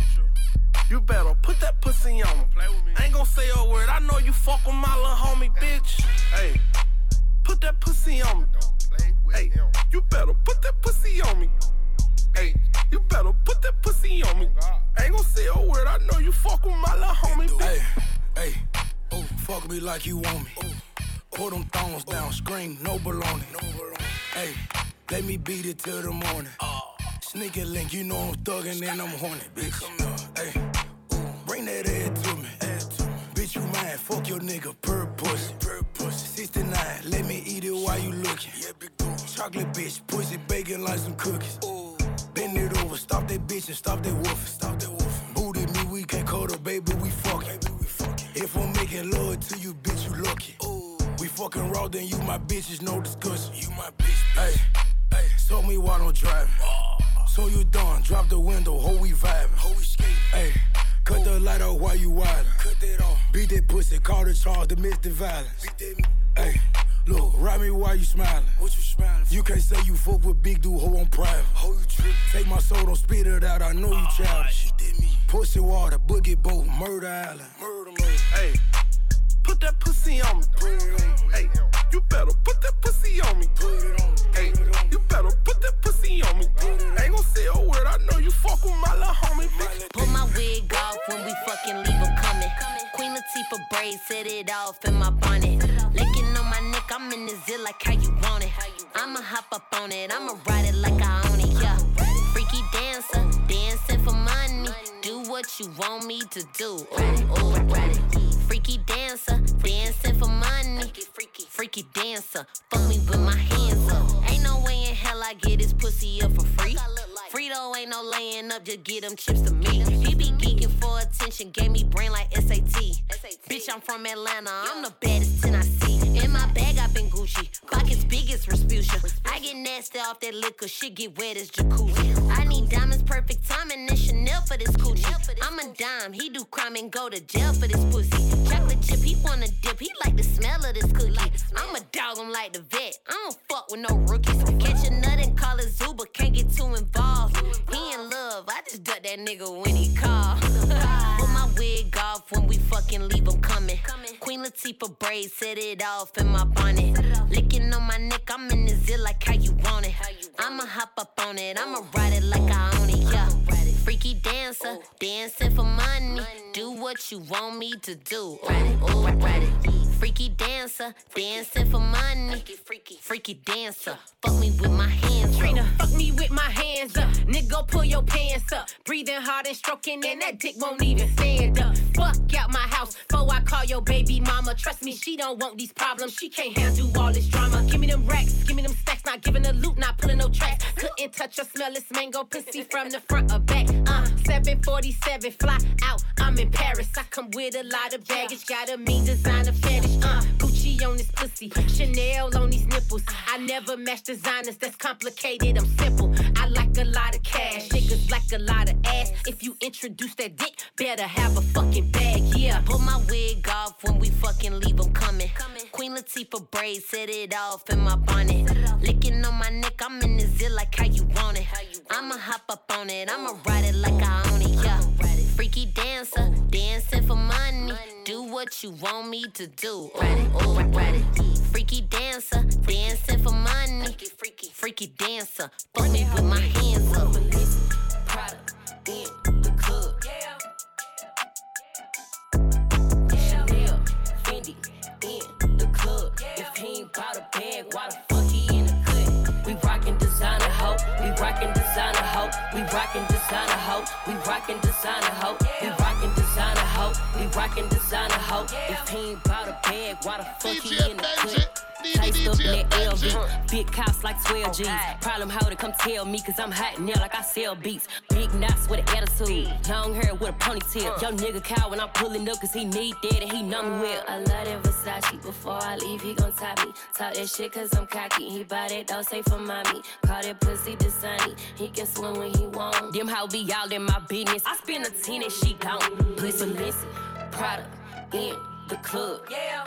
You better put that pussy on me. Ain't gon' say a word, I know you fuck with my little homie, bitch. Hey, put that pussy on me. Hey, you better put that pussy on me. Hey, you better put that pussy on me. Ain't gon' say a word, I know you fuck with my little homie, bitch. Hey, oh, fuck me like you want me. Put them thongs down, scream, no baloney. Hey, let me beat it till the morning. Sneaky link, you know I'm thuggin' and I'm horny, bitch. Hey, bring that head to me. Bitch, you mine, fuck your nigga, per pussy. 69, let me eat it while you looking. Chocolate bitch, pussy bacon like some cookies. Bend it over, stop that bitch and stop that woofing. Booty me, we can't cuddle, baby, we fucking. If I'm making love to you, bitch, you lucky. We fucking raw, then you my bitch, is no discussion. You my bitch. Hey, show me why don't drive. So you done, drop the window, ho we vibing. Hey, cut the light off while you wildin'. Cut that off. Beat that pussy, call the charge, domestic violence. Hey, look, ride me while you smiling. What you smiling for? You can't say you fuck with big dude, ho on private. Ho, you trippin'. Take my soul, don't spit it out, I know you childish. She did me. Pussy water, boogie boat, murder island. Murder. Hey, put that pussy on me. Hey, you better put that pussy on me. Hey, you better put that pussy on me. Ain't gon' say a word, I know you fuck with my little homie, bitch. Pull my wig off when we fucking leave him coming. Queen Latifah braids, set it off in my bonnet. Licking on my neck, I'm in the zit like how you want it. I'ma hop up on it, I'ma ride it like I own it, yeah. Freaky dancer, dancing for money. Do what you want me to do. Ooh. Freaky dancer, dancing for money. Freaky dancer, fuck me with my hands up. Ain't no way in hell I get this pussy up for free. Frito ain't no laying up, just get them chips to me. He be geeking for attention, gave me brain like SAT. Bitch, I'm from Atlanta, I'm the baddest 10 I see. In my bag, I been Gucci. Pocket as big as Respucia. I get nasty off that liquor, shit get wet as jacuzzi. I need diamonds, perfect timing, and Chanel for this coochie. I'm a dime, he do crime and go to jail for this pussy. Chocolate chip, he wanna dip, he like the smell of this cookie. I'm a dog, I'm like the vet, I don't fuck with no rookies. Catch a nut and call it Zuba, can't get too involved. He in love, I just duck that nigga when he call. Put my wig off when we fucking leave him coming. Queen Latifah braids, set it off in my bonnet. Licking on my neck, I'm in the zit like how you want it. I'ma hop up on it, I'ma ride it like I own it, yeah. Freaky dancer, dancing for money. Do what you want me to do. Ride it, ooh, ride it. Freaky dancer, dancing for money. Freaky dancer, fuck me with my hands up. Trina, fuck me with my hands up. Nigga, pull your pants up. Breathing hard and stroking, and that dick won't even stand up. Fuck out my house before I call your baby mama. Trust me, she don't want these problems. She can't handle all this drama. Give me them racks, give me them stacks. Not giving a loot, not pulling no tracks. Couldn't touch or smell this mango pussy from the front or back. 747, fly out, I'm in Paris. I come with a lot of baggage, got a mean designer fetish. Gucci on this pussy, Chanel on these nipples. I never match designers, that's complicated, I'm simple. I like a lot of cash, niggas like a lot of ass. If you introduce that dick, better have a fucking bag, yeah. Put my wig off when we fucking leave him coming. Queen Latifah braids, set it off in my bonnet. Licking on my neck, I'm in the zit like how you want it. I'ma hop up on it, I'ma ride it like I own it, yeah. Freaky dancer, dancing for money. Do what you want me to do. Ride it, ooh, ride it. Freaky dancer, dancing for money. Freaky dancer, fuck me with my hands up. Prada in the club. Chanel, Fendi in the club. If he ain't bought a bag, why the fuck he in the cut? We rockin' designer hoe, we rockin' designer hoe, we rockin' designer hoe, we rockin' designer hoe, we rockin' designer hoe, we rockin' designer hoe. If he ain't bought a bag, why the fuck he in the cut? Chased up in that LV, big cops like 12 G's. Problem how to come tell me, cause I'm hot now like I sell beats. Big knots with an attitude, long hair with a ponytail. Yo nigga cow when I'm pulling up, cause he need that and he know me well. I love that Versace, before I leave he gon' top me. Talk that shit cause I'm cocky, he buy that dog say for mommy. Call that pussy Dasani, he can swim when he want. Them how be all in my business, I spend a 10 and she gone. Pussy listen, Prada in the club. Yeah.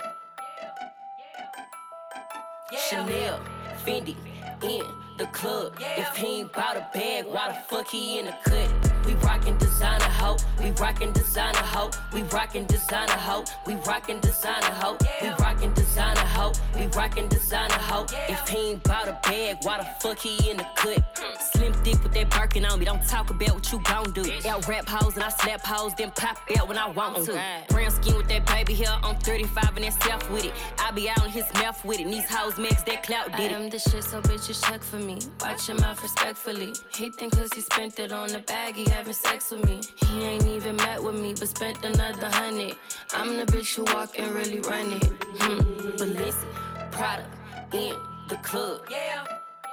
Chanel, Fendi, in the club. If he ain't bought a bag, why the fuck he in the cut? We rockin' designer hoe, we rockin' designer hoe, we rockin' designer hoe, we rockin' designer hoe, we rockin' designer hoe, we rockin' designer hoe. If he ain't bought a bag, why the fuck he in the cut? Slim thick with that Birkin on me, don't talk about what you gon' do. Out rap hoes and I slap hoes, then pop out when I want to. Brown skin with that baby hair, I'm 35 and that self with it. I be out in his mouth with it, and these hoes mix that clout did it. I am the shit, so bitches check for me. Watch him out respectfully. He think cause he spent it on the bag, he having sex with me. He ain't even met with me, but spent another 100. I'm the bitch who walk and really run it. But listen, Prada in the club. Yeah.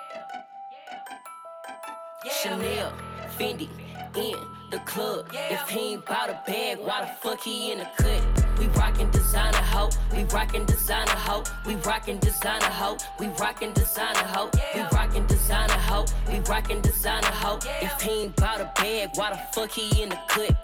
Chanel, Fendi in the club. If he ain't bought a bag, why the fuck he in the cut? We rockin' designer hoe, we rockin' designer hoe, we rockin' designer hoe, we rockin' designer hoe, we rockin' designer hoe, we rockin' designer hoe. If he ain't bought a bag, why the fuck he in the cut?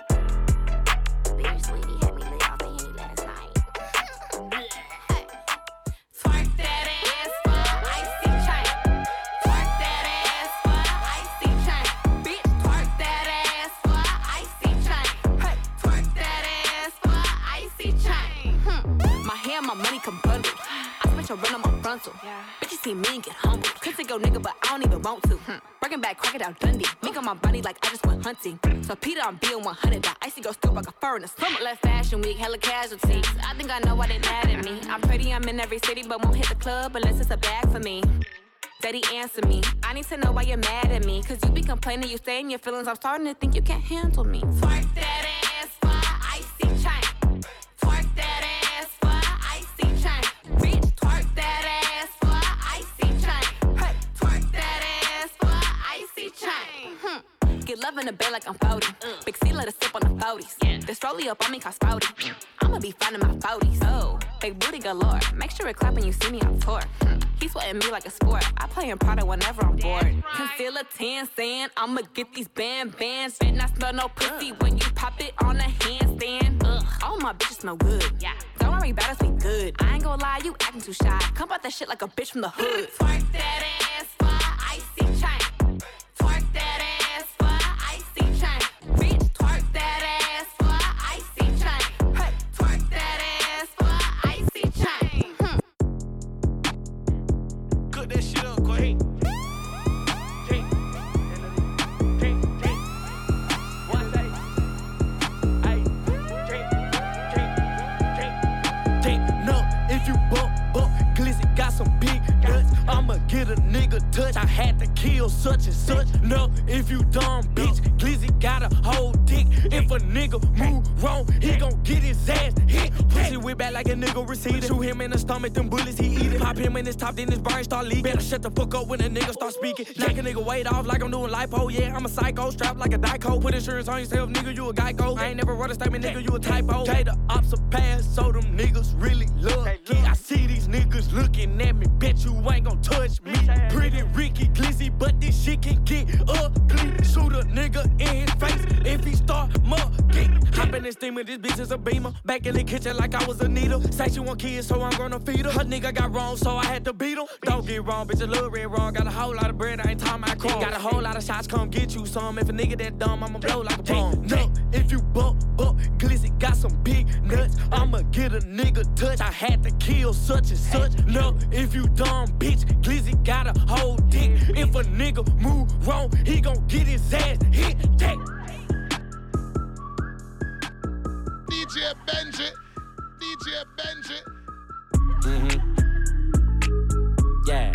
My money come bundled. I spent your run on my frontal. Bitch, you see me and get humbled. Could take your nigga, but I don't even want to. Breaking back, crocodile Dundee. Mink on my body like I just went hunting. So Peter, I'm being 100. That icy go still like a fur in the summer. Left fashion week, hella casualties. I think I know why they mad at me. I'm pretty, I'm in every city, but won't hit the club unless it's a bag for me. Daddy, answer me. I need to know why you're mad at me. Cause you be complaining, you stay in your feelings. I'm starting to think you can't handle me. Twerk that ass for icy chain. Twerk that ass for icy chain. Bitch, twerk that ass for icy chain. Hey, twerk that ass for icy chain. Get love in the bed like I'm 40. Big C let us sip on the 40s. This rollie up on me cause 40. I'ma be finding my 40s. Oh, big booty galore. Make sure it clap when you see me on tour. He sweating me like a sport. I play in Prada whenever I'm bored. Conceal a tan saying I'ma get these bands. Bet not smell no pussy when you pop it on a handstand. Ugh, all my bitches smell good. Yeah, don't worry about us, we good. I ain't gonna lie, you acting too shy. Come out that shit like a bitch from the hood. Twerk that ass for icy chain. Twerk that ass for icy chain. Bitch, twerk that ass for icy chain. Hey, twerk that ass for icy chain. Cook that shit up, quick. If you bump, Glizzy got some big nuts. I'ma get a nigga touch. I had to kill such and such. No, if you dumb bitch, Glizzy got a whole dick. If a nigga move wrong, he gon' get his ass hit. Pussy whip back like a nigga receded. Shoot him in the stomach, them bullets he eat it. Pop him in his top, then his brain start leaking. Better shut the fuck up when a nigga start speaking. Knock a nigga weight off like I'm doing lipo. Yeah, I'm a psycho, strapped like a Dyco. Put insurance on yourself, nigga, you a Geico. I ain't never wrote a statement, nigga, you a typo. Okay, the ops a pass, so them niggas really love me. I see these niggas looking at me, bet you ain't gon' touch me. Pretty Ricky Glizzy, but this shit can get ugly. Shoot a nigga in his face if he start mugging. Hop in this steamer, this bitch is a beamer. Back in the kitchen like I was a needle. Say she want kids, so I'm gonna feed her. Her nigga got wrong, so I had to beat him. Don't get wrong, bitch, a little red wrong. Got a whole lot of bread, I ain't talking about crumb. Got a whole lot of shots, come get you some. If a nigga that dumb, I'ma blow like a bomb. No, if you bump, Glizzy got some big nuts. I'ma get a nigga touch. I had to kill such and such. No, if you dumb bitch, Glizzy got a whole dick. If a nigga move wrong, he gon' get his ass hit. Take. DJ Benji. Yeah.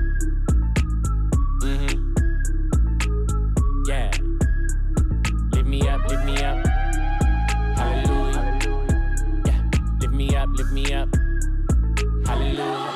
Yeah. Lift me up. Hallelujah. Yeah. Lift me up. Hallelujah.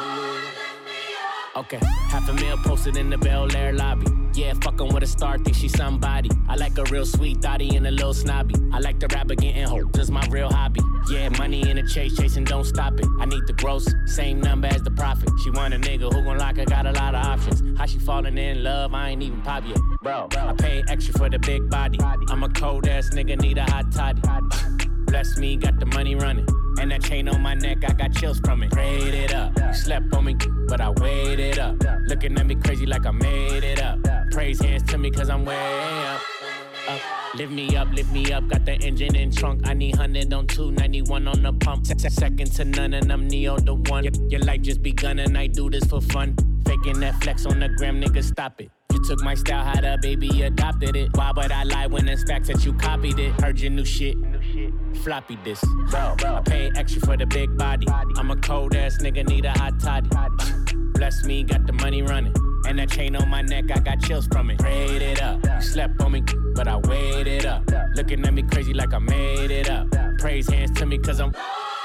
Okay, $500,000 posted in the Bel Air lobby. Yeah, fucking with a star, think she somebody. I like a real sweet thotty and a little snobby. I like the rapper getting hope, just my real hobby. Yeah, money in the chasing, don't stop it. I need the gross, same number as the profit. She want a nigga who gon' lock her, got a lot of options. How she falling in love, I ain't even pop yet. Bro, I pay extra for the big body. I'm a cold ass nigga, need a hot toddy. Bless me, got the money running. And that chain on my neck, I got chills from it. Prayed it up, you slept on me, but I waited up. Looking at me crazy like I made it up. Praise hands to me cause I'm way up. Lift me up, got the engine in trunk. I need 100 on 291 on the pump. Second to none and I'm Neo the one. Your life just begun and I do this for fun. Faking that flex on the gram, nigga, stop it. You took my style, how the baby adopted it. Why would I lie when it's facts that you copied it? Heard your new shit. Floppy this. Bro, I pay extra for the big body. I'm a cold ass nigga, need a hot toddy. Bless me, got the money running. And that chain on my neck, I got chills from it. Prayed it up, you slept on me, but I waited up. Looking at me crazy like I made it up. Praise hands to me cause I'm...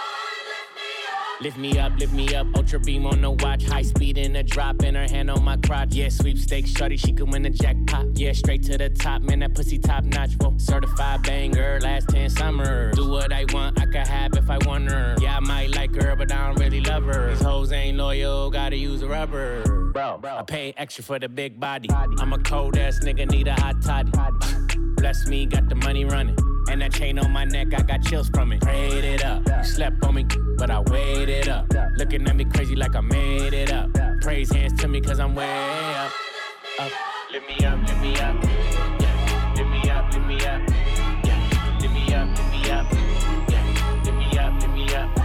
Lift me up, ultra beam on the watch. High speed in the drop, and her hand on my crotch. Yeah, sweepstakes, shorty, she could win the jackpot. Yeah, straight to the top, man, that pussy top notch. Whoa, certified banger, last 10 summers. Do what I want, I could have if I want her. Yeah, I might like her, but I don't really love her. These hoes ain't loyal, gotta use a rubber. Bro, I pay extra for the big body. I'm a cold ass nigga, need a hot toddy. Bless me, got the money running. And that chain on my neck, I got chills from it. Prayed it up, you slept on me, but I waited up. Looking at me crazy like I made it up. Praise hands to me cause I'm way up. Lift me up. Yeah, lift me up. Yeah, lift me up. Yeah, lift me up.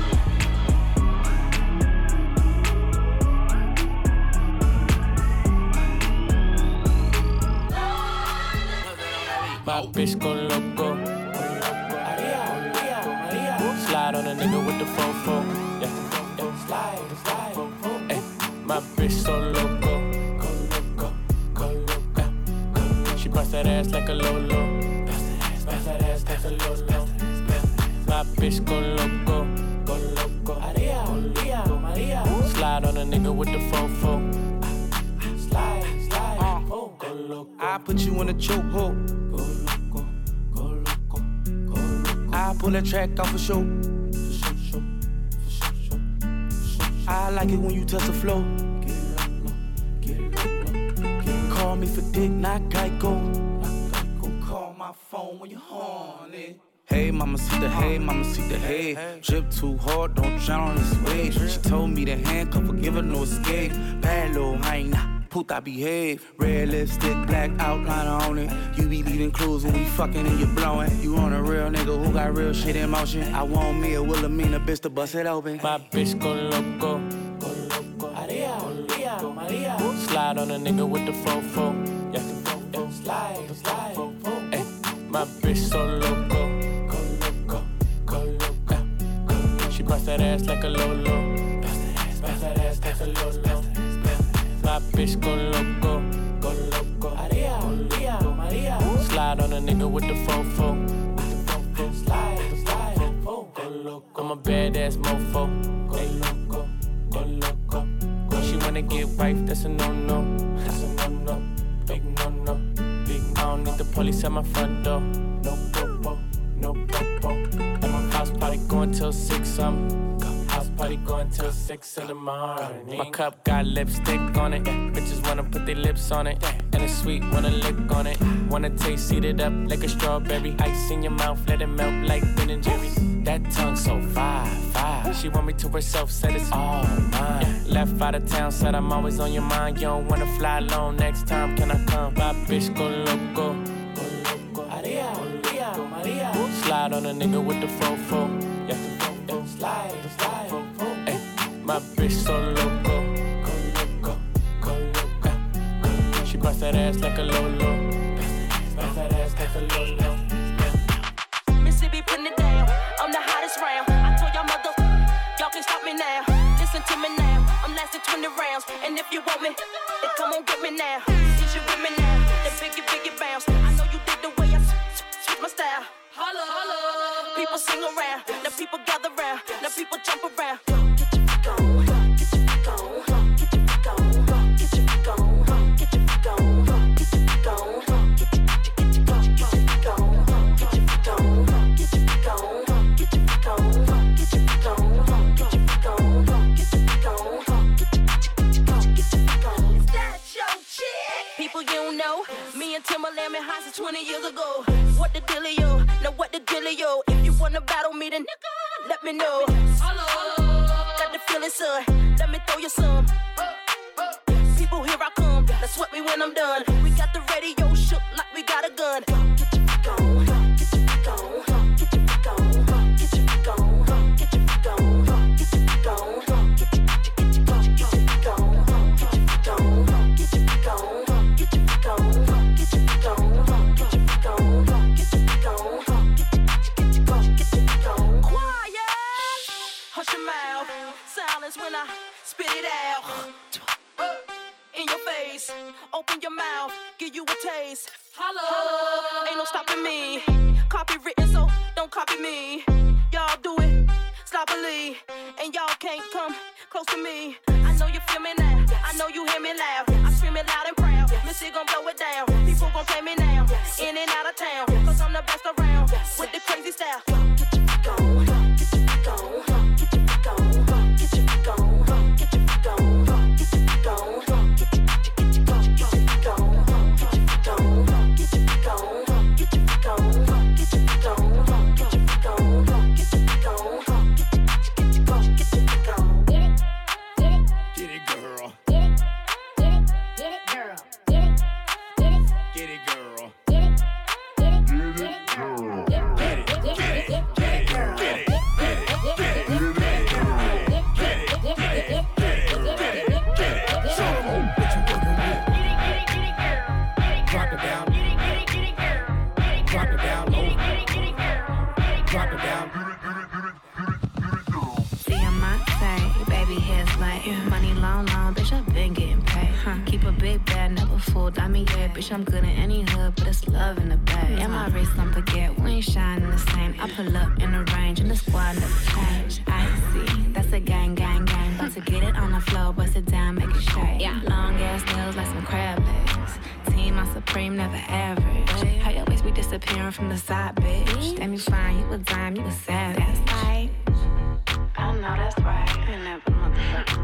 My bitch go loco. Slide on a nigga with the fofo. Yeah. Slide. Ay, my bitch so loco. She bust that ass like a Lolo. Bust that ass like a Lolo. My bitch go loco. Slide on a nigga with the fofo. Slide. I put you in a chokehold. I pull that track off for show. I like it when you touch the floor. Call me for dick, not Geico. Call my phone when you're horny. Hey, mama, see the hey, mama, see the hey. Drip too hard, don't drown on this wave. She told me to handcuff her, give her no escape. Bad little hyena, puta behave. Red lipstick, black outliner on it. You be leaving clues when we fucking and you blowing. You on a real nigga who got real shit in motion. I want me a Wilhelmina bitch to bust it open. My bitch go loco. Maria, Maria. Slide on a nigga with the fofo. Yeah, slide. Ay, my bitch so loco. She bust that ass like a Lolo. Bust that ass like a Lolo. My bitch go loco. Maria. Slide on a nigga with the fofo. Slide. I'm a badass mofo. Go loco. She wanna get wife, that's a no-no. Big no-no. I don't need the police at my front door. No popo. At my house party going till 6, house party going till 6 in the morning. My cup got lipstick on it. Bitches wanna put their lips on it. And it's sweet, wanna lick on it. Wanna taste, eat it up like a strawberry. Ice in your mouth, let it melt like Ben and Jerry. That tongue so fire. She want me to herself, said it's all mine. Left out of town, said I'm always on your mind. You don't wanna fly alone, next time can I come? My bitch go loco. Maria. Slide on a nigga with the fofo. Yeah, slide. Ay, my bitch so loco. She bust that ass like a Lolo. Mississippi putting it down. I'm the hottest round. I told y'all mother, y'all can stop me now. Listen to me now. I'm lasting 20 rounds. And if you want me, then come on get me now. Since you with me now, then biggie bounce. I know you dig the way I switch my style. Holla. People sing around, now people gather round, now people jump around. Get your freak on, get your freak on, get your freak on, get your freak on, get your freak on, get your freak on, get your freak on, get your freak on, get your freak on, get your freak on, get your freak on, get your freak on, get your freak on, get your freak on, get your freak on. Is that your chick? People you don't know, me and Timberland been high since 20 years ago. What the dealio? Now what the dealio? If you wanna battle me, then let me know. Got the feeling, son. Let me throw you some. People, here I come. Now sweat me when I'm done. We got the radio shook like we got a gun. Get your freak on. Get your freak on. Get your freak on. Get your freak on. Get your freak on. Get your freak on. Get your freak on. Get your freak on. Get your freak on. Get your freak on. Get your freak on. Get your freak on. Hush your mouth, silence when I spit it out. In your face, open your mouth, give you a taste. Holla, ain't no stopping me. Copywritten, so don't copy me. Y'all do it sloppily, and y'all can't come close to me. I know you feel me now, I know you hear me loud. I scream it loud and proud, Missy gon' blow it down. People gon' play me now, in and out of town, cause I'm the best around, with the crazy style. Get your freak on, get your freak on. Bitch, I'm good in any hood, but it's love in the bag. And my wrist, don't forget, we ain't shining the same. I pull up in the range, and the squad never change. I see, that's a gang. About to get it on the floor, bust it down, make it shake. Yeah. Long ass nails like some crab legs. Team, I'm supreme, never average. How your waist be disappearing from the side, bitch? Damn, you fine, you a dime, you a savage. That's right. I know that's right. I never motherfucking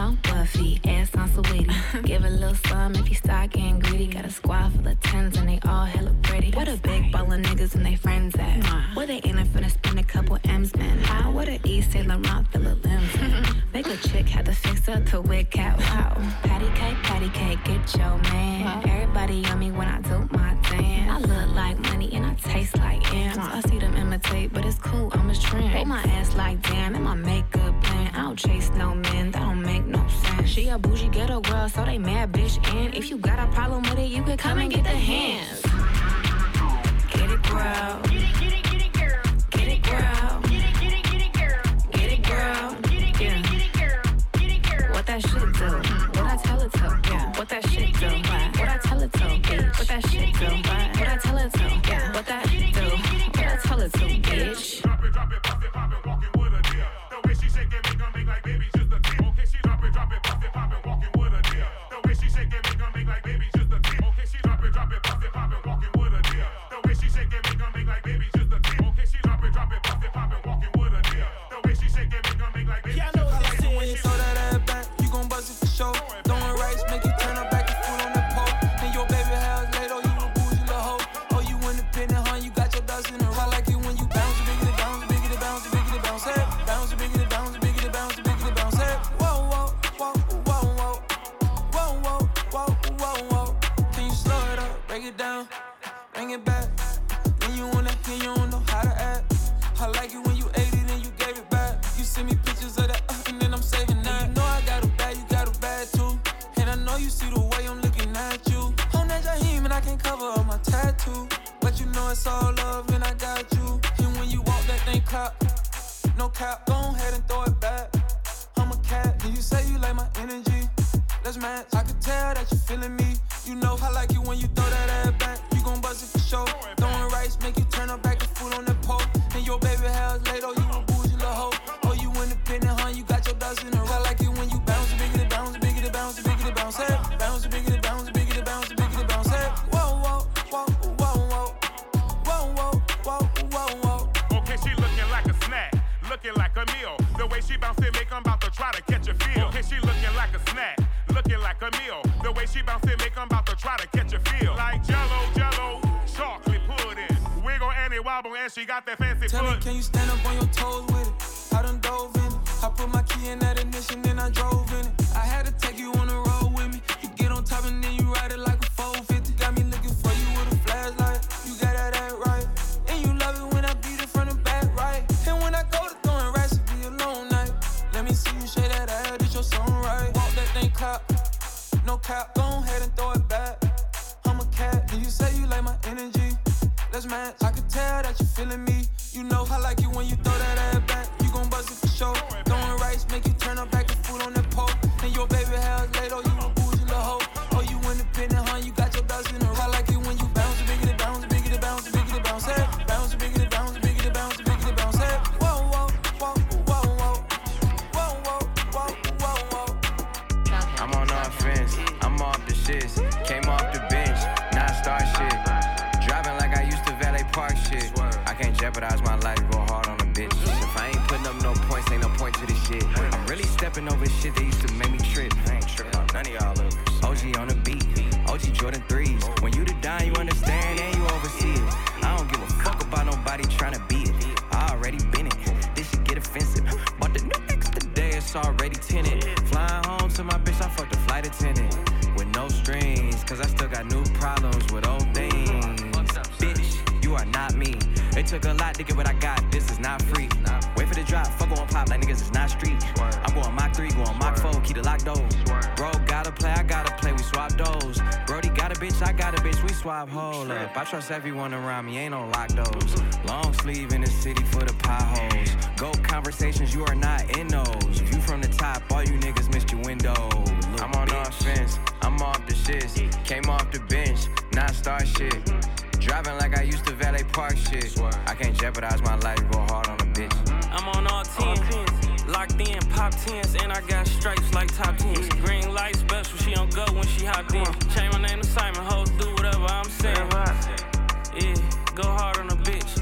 on Buffy, ass on Sweetie. Give a little some if you start getting greedy. Got a squad full of tens and they all hella pretty. What a big ball of niggas and they friends at? Where they ain't finna spend a couple M's, man. How? What a East Saint Laurent fill of limbs. Make a chick had to fix up to wig cat. Wow. Patty cake, get your man. Everybody on me when I do my dance. I look like money and I taste like M's. I see them imitate, but it's cool, I'm a trend. Hold my ass like damn, and my makeup plan. I don't chase no men, that don't make no sense. She a bougie ghetto girl, so they mad bitch. And if you got a problem with it, you could come and get the hands. Get it, girl. Get it, girl. Get it, girl. Get it, girl. Get it, girl. What that shit do? What I tell it to? Yeah. What that shit do? What I tell it to? Bitch. What that shit do? What I tell it to? Yeah. What that do? What I tell it to? Bitch. Drop it, bust it, poppin', walking with a deal. The way she shake it, make like baby just a tip. Okay, she drop it, bust it, poppin', walking with a deal. The way she shake it, make like baby just a tip. Okay, she drop it, bust it, poppin', walking with a deal. The way she shake it, make like baby just a tip. Okay, she drop it, bust it, poppin', walking with a deal. The way she shake it, make like baby just a tip. When you throw that ass back, you gon' bust it for sure. Throwing rice, make you turn her back and foot on the pole. And your baby house late, oh you a bougie little hoe. Oh you independent, huh? You got your ducks in a row. I like it when you bounce, biggity bounce, biggity bounce, biggity bounce, hey. Bounce, biggity bounce, biggity bounce, biggity bounce, hey. Whoa, whoa, whoa, whoa, whoa, whoa, whoa, whoa, whoa, whoa. Can you slow it up, break it down, bring it back? When you wanna hear, you don't know how to act. I like it when you ate it and you gave it back. You send me pictures of that, and then I'm saving that. You know I got a bad, you got a bad too. And I know you see the way I'm looking at you. On that Jaheim and I can't cover up my tattoo. But you know it's all love and I got you. And when you walk that thing clap, no cap, go ahead and throw it back. I'm a cat, and you say you like my energy. Let's match, I can tell that you feeling me. You know I like it when you throw that ass back. You gon' bust it for sure. Throwing rice, make you turn her back and foot on the pole. And your baby house late, oh you a bougie little hoe. Oh you independent, huh? You got your ducks in a row. I like it when you bounce, biggity bounce, biggity bounce, biggity bounce, hey. Bounce, biggity bounce, biggity bounce, biggity bounce, hey. Whoa, whoa, whoa, whoa, whoa, whoa, whoa, whoa, whoa, whoa. Okay, she looking like a snack, looking like a meal. The way she bounce it, make 'em about to try to catch a feel. Okay, she looking like a snack, looking like a meal. The way she bounce it, make 'em about to try to catch a feel. Like Jello, chocolate pudding. Wiggle and it wobble and she got that fancy Tell foot. me, can you stand up on your toes with it? I done dove in it. I put my key in that ignition, then I drove in it. I had to take you on the road with me. You get on top and then you ride it like a 450. Got me looking for you with a flashlight. You got that act right. And you love it when I beat it from the back right. And when I go to throwing rats, it be a long night. Let me see you shake that ass, it's your song right. Walk that thing clap, no cap, go ahead and throw it back. I'm a cat, and you say you like my energy. Let's match, I can tell that you feeling me. You know I like it when you throw that ass back. You gon' bust it for sure. Throwing rice, make you turn her back and foot on the pole. And your baby house late, oh you a bougie little hoe. Oh you independent, huh? You got your ducks in a row. I like it when you bounce, biggity bounce, biggity bounce, biggity bounce, hey. Bounce, biggity bounce, biggity bounce, biggity bounce, hey. Whoa, whoa, whoa, whoa, whoa, whoa, whoa, whoa, whoa, whoa. I'm on offense, I'm off the shits. Came off the bench, non-star shit. Driving like I used to valet park shit. I can't jeopardize my life, go hard on a bitch. If I ain't putting up no points, ain't no point to this shit. I'm really stepping over shit that used to make me trip. I ain't tripping on none of y'all others. OG on the beat, OG Jordan 3s. When you the dime, you understand and you oversee it. I don't give a fuck about nobody trying to beat it. I already been it, this shit get offensive. But the new next today, it's already tinted. Flying home to my bitch, I fucked the flight attendant. With no strings, cause I still got new problems with old things. Bitch, you are not me. It took a lot to get what I got, this is not free. Wait for the drop, fuck on pop like niggas is not street. I'm going Mach 3, going Mach 4, keep the lock doors. Bro, gotta play, I gotta play, we swap those. Brody got a bitch, I got a bitch, we swap, hold up. I trust everyone around me, ain't no lock doors. Long sleeve in the city for the potholes. Go conversations, you are not in those. If you from the top, all you niggas missed your window. I'm on offense, I'm off the shits. Came off the bench, non-star shit. Driving like I used to valet park shit. I can't jeopardize my life, go hard on a bitch. I'm on all 10s, locked in, pop 10s, and I got stripes like top 10s. Green light special, she don't go when she hop in. Change my name to Simon, hoes do whatever I'm saying. Yeah, go hard on a bitch.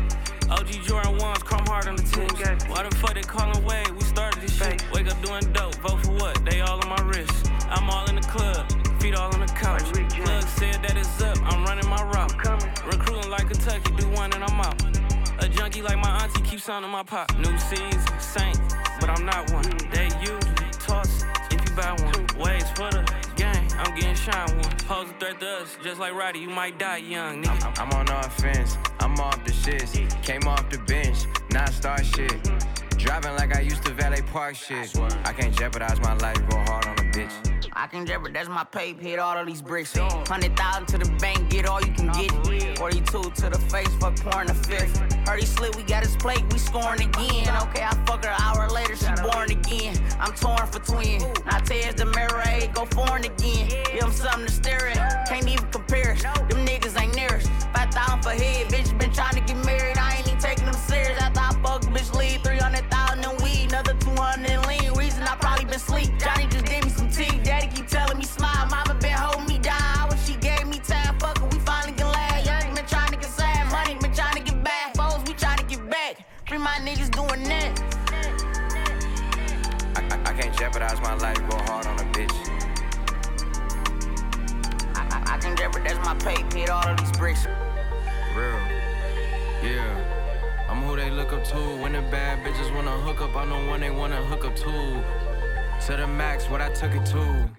OG Jordan 1s, chrome hard on the tips. Why the fuck they callin' Wade? We started this shit. Wake up doing dope, vote for what? They all on my wrist. I'm all in the club, feet all on the couch. Plug said that it's up, I'm running my route. Recruiting like Kentucky, do one and I'm out. A junkie like my auntie keeps sounding my pop. New season, saint, but I'm not one. They usually toss if you buy one. Waves for the gang, I'm getting shine one. Pose a threat to us, just like Roddy, you might die young, nigga. I'm on offense, I'm off the shits. Came off the bench, non-star shit. Driving like I used to valet park shit. I can't jeopardize my life, go hard on a bitch. I can jeopardize my pay, hit all of these bricks. 100,000 to the bank, get all you can get. 42 to the face, fuck pouring the fifth. Heard he slid, we got his plate, we scoring again. Okay, I fuck her an hour later, she born again. I'm torn for twin. Now tears the mirror, hey, go foreign again. Give him something to stare at, can't even compare us. Them niggas ain't near us. 5,000 for head, bitch been trying to get married. I ain't even taking them serious. After I fuck, bitch leave 300,000 in weed, another 200 in lean. Reason I probably been sleep. Johnny just gave me some tea. Daddy keep telling me smile. Mama been holding me down. I wish she gave me time. Fuck her, we finally can laugh. Young been trying to get sad. Money been trying to get back. Foes, we trying to get back. Free my niggas doing that. I can't jeopardize my life, go hard on a bitch. I can jeopardize my pay, hit all of these bricks. Real, yeah. I'm who they look up to. When the bad bitches wanna hook up, I'm the one they wanna hook up to. To the max, what I took it to.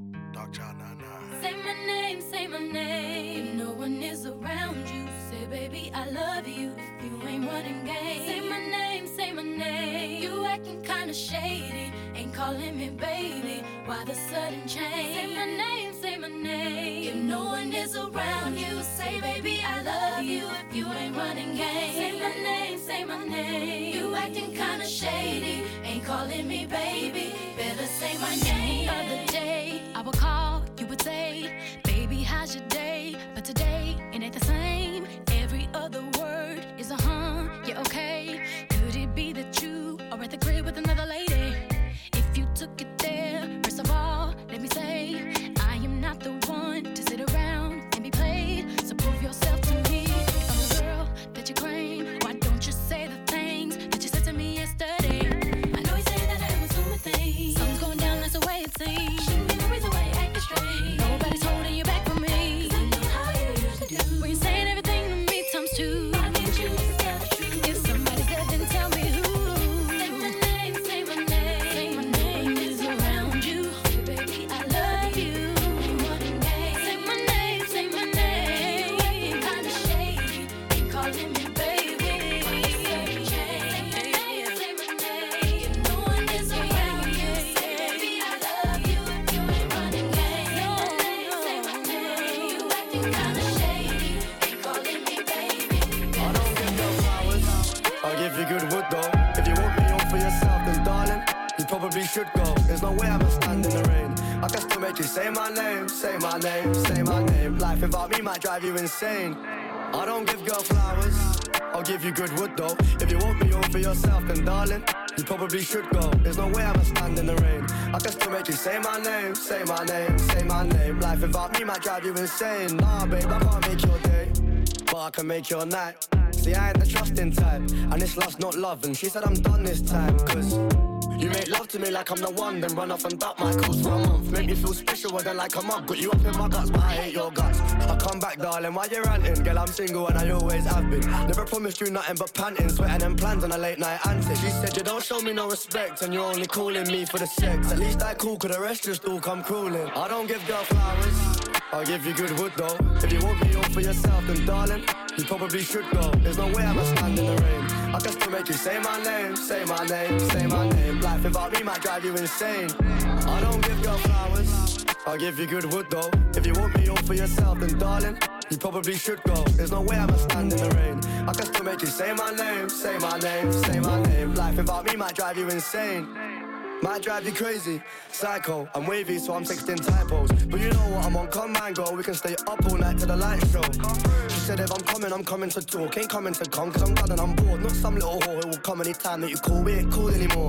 Say my name, say my name. If no one is around you, say baby I love you. If you ain't running game, say my name, say my name. You acting kinda shady, ain't calling me baby. Why the sudden change? Say my name, say my name. If no one is around you, say baby I love you. If you ain't running game, say my name, say my name. You acting kinda shady, ain't calling me baby. Better say my name. The other day I would call, you would say, baby how's your day? But today it ain't the same. Every other word is a yeah okay. Could it be that you are at the crib with another lady? If you took it there, first of all, let me say, I am not the one to sit around and be played. So prove yourself to me. If I'm the girl that you claim, why don't you say the things that you said to me yesterday? I know you say that I am assuming things. Something's going down, that's the way it seems. Shouldn't be no reason why you're acting strange. Nobody's holding you back from me. 'Cause I know how you used to do. When you're saying everything to me times two. I need you to tell the truth. If somebody's dead, then tell me who. Say my name, say my name. Say my name is around you. Say baby I love you. Ain't running game. Say my name, say my name. You acting kinda shady, ain't calling me baby. Why you sudden change? Say my name, say my name. If no one is around you, say baby I love you. If you ain't running game. Say my name, say my name. You acting kinda shady, ain't calling me baby. I don't give no flowers, I'll give you good wood though. If you want me all for yourself, then darling, you probably should go. There's no way I'ma stand in the rain. I can still make you say my name, say my name, say my name. Life without me might drive you insane. I don't give girl flowers, I'll give you good wood though. If you want me all for yourself, then darling, you probably should go. There's no way I'ma stand in the rain. I can still make you say my name, say my name, say my name. Life without me might drive you insane. Nah, babe, I can't make your day, but I can make your night. See, I ain't the trusting type, and it's lust, not love. And she said I'm done this time, 'cause you make love to me like I'm the one, then run off and duck my calls for a month. Make me feel special, then like a mug. Got you up in my guts, but I hate your guts. I come back, darling, why you ranting? Girl, I'm single and I always have been. Never promised you nothing but panting, sweating and plans on a late night antic. She said you don't show me no respect, and you're only calling me for the sex. At least I cool, 'cause the rest just all come crawling. I don't give girl flowers, I'll give you good wood though. If you want me all for yourself, then darling, you probably should go. There's no way I'ma stand in the rain. I can still make you say my name, say my name, say my name. Life without me might drive you insane. I don't give girl flowers, I'll give you good wood though. If you want me all for yourself, then darling, you probably should go. There's no way I'ma stand in the rain. I can still make you say my name, say my name, say my name. Life without me might drive you insane. Might drive you crazy, psycho. I'm wavy, so I'm texting typos. But you know what, I'm on come and go. We can stay up all night till the lights show. She said if I'm coming to talk. Ain't coming to come, 'cause I'm done and I'm bored. Not some little whore who will come anytime that you call. We ain't cool anymore.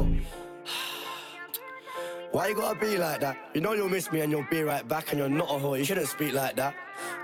Why you gotta be like that? You know you'll miss me and you'll be right back, and you're not a whore, you shouldn't speak like that.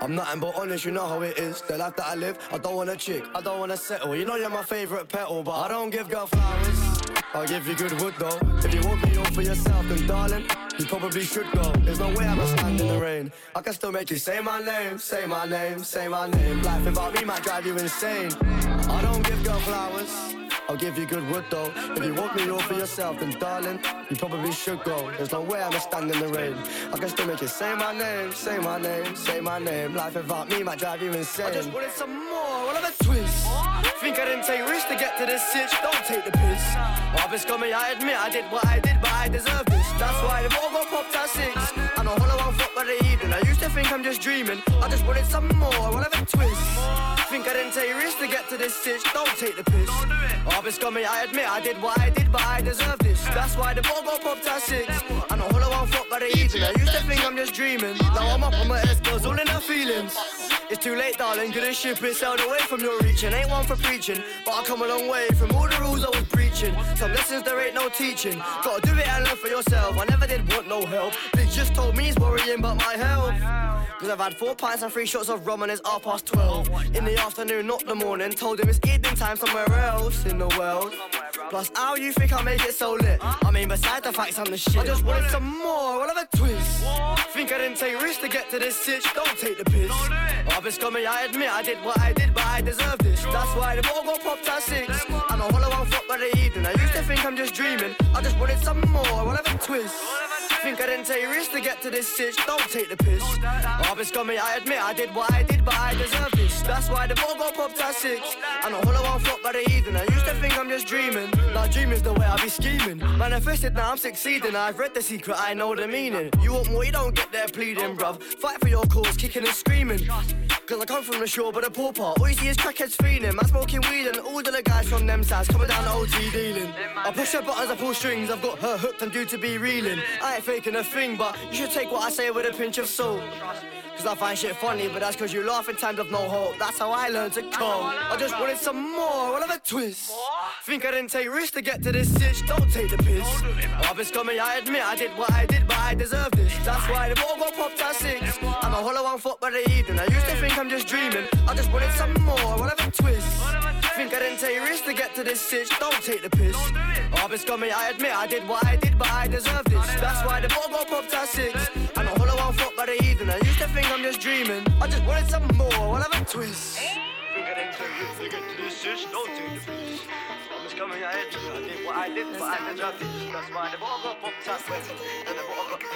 I'm nothing but honest, you know how it is. The life that I live, I don't want a chick, I don't want to settle. You know you're my favourite petal, but I don't give girl flowers. I'll give you good wood though. If you want me all for yourself, then darling, you probably should go. There's no way I'ma stand in the rain. I can still make you say my name, say my name, say my name. Life without me might drive you insane. I don't give girl flowers. I'll give you good wood though. If you want me all for yourself, then darling, you probably should go. There's no way I'ma stand in the rain. I can still make you say my name, say my name, say my name. Life without me might drive you insane. I just wanted some more, what of a twist. Think I didn't take risks to get to this sitch, don't take the piss. I've been scummy, I admit I did what I did, but I deserve this. That's why the ball got popped at 6. I know hollow on foot by the evening. I used to think I'm just dreaming. I just wanted some more, what of a twist. Think I didn't take risks to get to this sitch, don't take the piss. I've been scummy, I admit I did what I did, but I deserve this. That's why the ball got popped at 6. I know hollow on foot by the evening. I used to think I'm just dreaming. Now I'm up on my S-girls, all in her feelings. It's too late, darling, couldn't ship it, sailed away from your reaching. Ain't one for preaching, but I come a long way from all the rules I was preaching. Some lessons there ain't no teaching. Gotta do it and learn for yourself. I never did want no help. Big just told me he's worrying about my health. Cause I've had 4 pints and 3 shots of rum and it's 12:30. In the afternoon, not the morning. Told him it's evening time somewhere else in the world. Plus, how you think I make it so lit? I mean, besides the facts, I'm the shit. I just wanted some more, what of a twist. Think I didn't take risks to get to this sitch, don't take the piss. I've been scummy, I admit I did what I did, but I deserve this. That's why the ball got popped at 6. I'm a hollow on foot by the evening. I used to think I'm just dreaming. I just wanted some more, what of a twist. Think I didn't take risks to get to this sitch, don't take the piss. I've been scummy, I admit I did what I did, but I deserve this. That's why the ball got popped at 6. I'm a hollow on foot by the evening. I used to think I'm just dreaming. Now dreaming's the way I be scheming. Manifested, now I'm succeeding. I've read the secret, I know the meaning. You want more, you don't get there pleading, bruv. Fight for your cause, kicking and screaming. Cause I come from the shore, but the poor part. All you see is crackheads feeling. Man smoking weed and all the other guys from them sides coming down the OT dealing. I push her buttons, I pull strings. I've got her hooked, I'm due to be reeling. I ain't faking a thing, but you should take what I say with a pinch of salt. Cause I find shit funny, but that's cause you laugh in times of no hope. That's how I learned to cope. I just wanted some more, what of a twist. Think I didn't take risks to get to this sitch, don't take the piss. I've been scummy, I admit I did what I did, but I deserve this. That's why the ball got popped at 6. I'm a hollow on foot by the evening. I used to think I'm just dreaming. I just wanted some more, what of a twist. Think I didn't take risks to get to this sitch, don't take the piss. I've been scummy, I admit I did what I did, but I deserve this. That's why the ball got popped at 6. I'm a hollow on foot by the evening. I used to think I'm just dreaming. I just wanted some more, what of a twist. Think I didn't take risks to get to this sitch, don't take the piss. Coming ahead, I did what I did, but I deserved it. That's why the ball got popped at 6. And the ball got...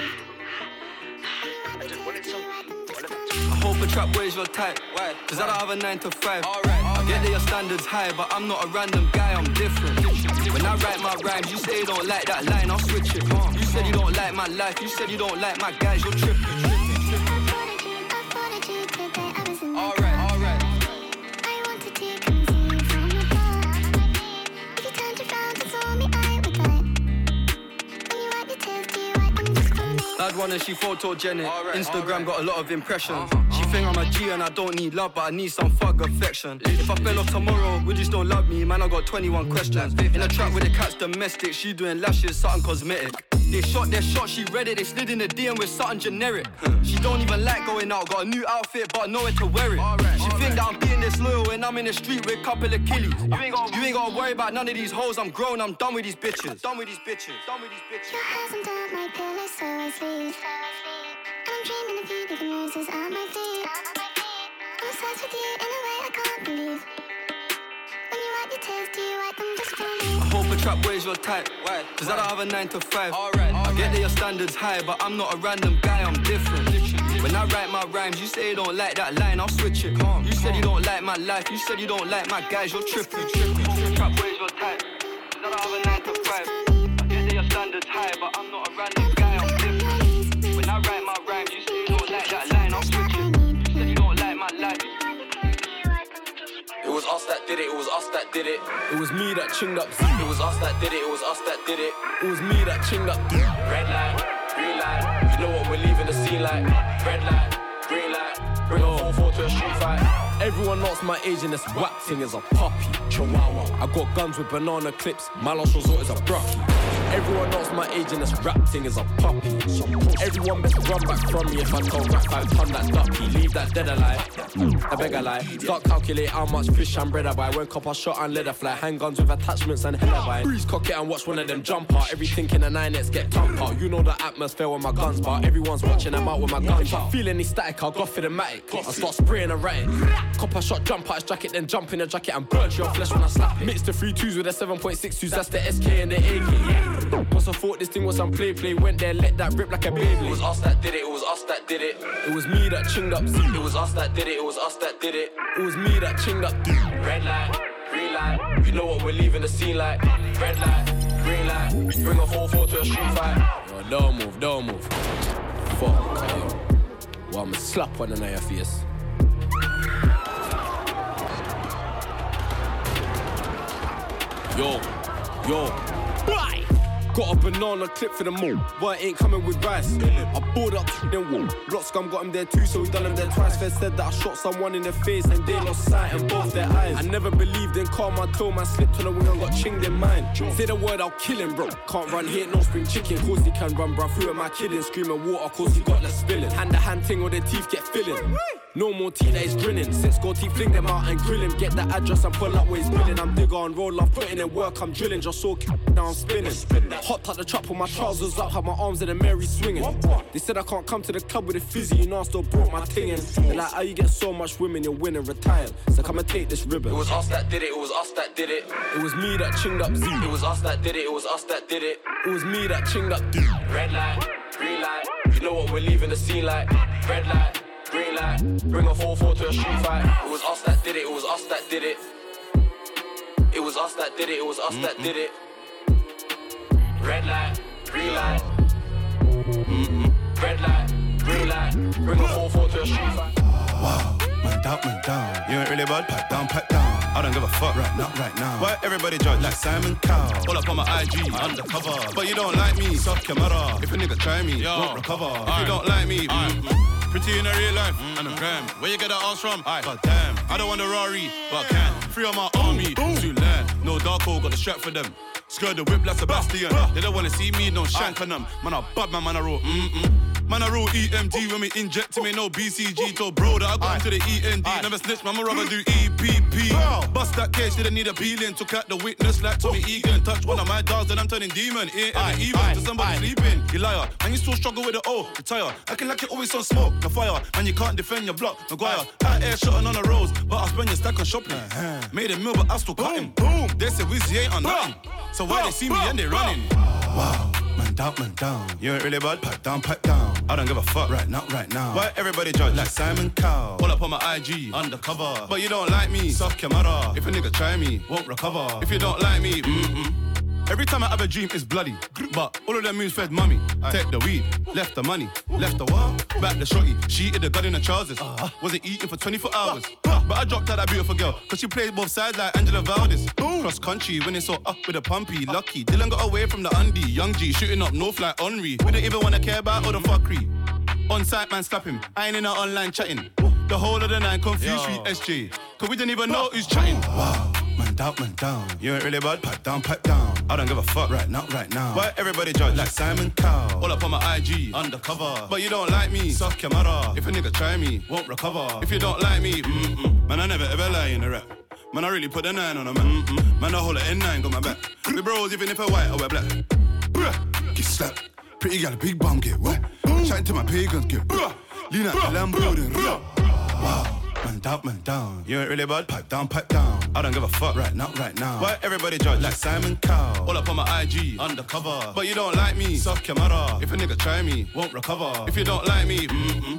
I just wanted some... I hope a trap weighs your type. Why? Cause I don't have a 9 to 5. I get that your standards high, but I'm not a random guy, I'm different. When I write my rhymes, you say you don't like that line, I'll switch it. You said you don't like my life, you said you don't like my guys, you're tripping. Alright. Bad one and she photogenic. Instagram got a lot of impressions. She think I'm a G and I don't need love, but I need some thug affection. If I fell off tomorrow, would you still love me? Man, I got 21 questions. In a trap with the cat's domestic, she doing lashes, something cosmetic. They shot their shot, she read it, they slid in the DM with something generic. She don't even like going out, got a new outfit, but nowhere to wear it. She think that I'm being disloyal when I'm in the street with a couple of killies. You ain't gotta worry about none of these hoes, I'm grown, I'm done with these bitches. Done with these bitches. Your hands under my pillow, so I sleep. And I'm dreaming of you, leaving roses on my feet. I'm obsessed with you in a way I can't believe. When you wipe your tears, do you wipe them just for me? I hope a trap weighs your type. Why? Cause I don't have a 9 to 5. I get that your standards high, but I'm not a random guy, I'm different. When I write my rhymes, you say you don't like that line, I'll switch it. You said you don't like my life, you said you don't like my guys, you're tripping. Trap weighs your type. Cause I don't have a 9 to 5. I get that your standards high, but I'm not a random guy, I'm different. When I write my rhymes, you say you don't like that line, I'll switch it. You said you don't like my life. It was us that did it, it was us that did it. It was me that chinged up. It was us that did it, it was us that did it. It was me that chinged up. Red light, green light, you know what we're leaving the scene like. Red light, green light, bring a 4-4 to a street fight. Everyone knows my age and this whack thing is a puppy, chihuahua. I got guns with banana clips, my last resort is a brucky. Everyone knows my age and this rap thing is a puppy. Everyone best run back from me if I don't rap 5 ton that duppy. Leave that dead alive, I beg a lie. Start calculate how much fish and bread I buy. When copper shot and leather fly, handguns with attachments and hella buy. Breeze cock it and watch one of them jump out. Everything in the 9X get thumped out. You know the atmosphere when my guns bar. Everyone's watching, I'm out with my guns. If I feel any static, I'll go for the matic. I start spraying and writing. Copper shot, jump out his jacket, then jump in the jacket and burn your flesh when I slap it. Mix the 3-2s with the 7.62s, that's the SK and the AK. Once I thought this thing was some play, went there, let that rip like a baby. It was us that did it, it was us that did it. It was me that chinged up Z. It was us that did it, it was us that did it. It was me that chinged up D. Red light, green light, you know what we're leaving the scene like. Red light, green light, bring a 4-4 to a street fight. Yo, don't move. Fuck, okay. Well, I'ma slap one in your face. Yo, bye! Got a banana clip for the mall, but it ain't coming with rice. I bought up then wall. Block scum got him there too, so we done him there twice. Fed said that I shot someone in the face and they lost sight in both their eyes. I never believed in karma till man slipped on the wing and got chinged in mine. Say the word, I'll kill him, bro. Can't run here, no spring chicken. Cause he can run, bro. Through at my kidding, screaming water, cause he got less spilling. Hand to hand thing or their teeth get filling. No more tea that is grinning. 6 gold teeth, fling them out and grill him. Get the address and pull up where he's billing. I'm digger on roll, I'm putting in work, I'm drilling. Just so now I'm spinning. Hot out the trap with my trousers up, had my arms in the Mary swinging. They said I can't come to the club with a fizzy, you know I still brought my thing in. They're like, how you get so much women, you're winning, retired. So come and take this ribbon. It was us that did it, it was us that did it. It was me that chinged up Z. It was us that did it, it was us that did it. It was me that chinged up D. Red light, green light, you know what we're leaving the scene like. Red light, green light, bring a 4-4 to a street fight. It was us that did it, it was us that did it. It was us that did it, it was us that did it. Red light, green light. Red light, green light, bring a 4-4 to a street fight. Wow, man down. You ain't really bad, pack down. I don't give a fuck right now. Why everybody judge like Simon Cowell? All up on my IG, undercover. But you don't like me, soft camera. If a nigga try me, won't recover. If you don't like me, pretty in a real life, and a gram. Where you get that ass from? God damn, I don't want a Rari, but I can. Free on my army, to land. No dark hole, got the strap for them. Skirt the whip like Sebastian. They don't wanna see me, no shank on them. Man, I bad man I roll. Man, I roll EMD when we inject him, ain't no BCG. Told bro that I got him to the END. Never snitch, man, my rubber do EPP. Bust that case, didn't need a peeling. Took out the witness like Tommy Egan. Touch one of my dogs, then I'm turning demon. Ain't ever even to somebody sleeping. You liar, and you still struggle with the O. Retire, acting like you always on smoke. No fire, and you can't defend your block. Maguire, out air shotting on the roads, but I spend your stack on shopping. Made a meal, but I still cut him. They say Wizzy ain't on nothing. So why they see me and they running? Wow. Man down. You ain't really bad, pack down. I don't give a fuck right now. Why everybody judge like Simon Cowell? All up on my IG, undercover. But you don't like me, soft camera. If a nigga try me, won't recover. If you don't like me, Every time I have a dream, it's bloody. But all of them moves fed mummy. Take the weed, left the money, left the what? Back the shorty. She eated the gun in the trousers. Wasn't eating for 24 hours. But I dropped out that beautiful girl, cause she plays both sides like Angela Valdez. Cross country, when it's so up with a pumpy. Lucky, Dylan got away from the undie. Young G shooting up north like Henry. We don't even wanna care about all the fuckery. On site, man, slap him. I ain't in our online chatting. The whole of the night confused with SJ. Cause we didn't even know who's chatting. Wow. Man down. You ain't really bad, pack down. I don't give a fuck right now. Why everybody judge like Simon Cowell? All up on my IG, undercover. But you don't like me, soft camera. If a nigga try me, won't recover. If you don't like me, man, I never ever lie in the rap. Man, I really put a 9 on a man. Man, I hold a N9, got my back. We bros, even if I white, I wear black. Get slapped. Pretty gal, big bum, get wet. Chatting to my pagans, get lean out the Lambo, then wow. Man down. You ain't really bad, pipe down. I don't give a fuck right now. Why everybody judge like Simon Cowell? All up on my IG, undercover. But you don't like me, soft camera. If a nigga try me, won't recover. If you don't like me,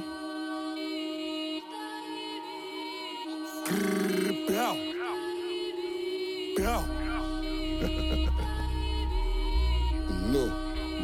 No.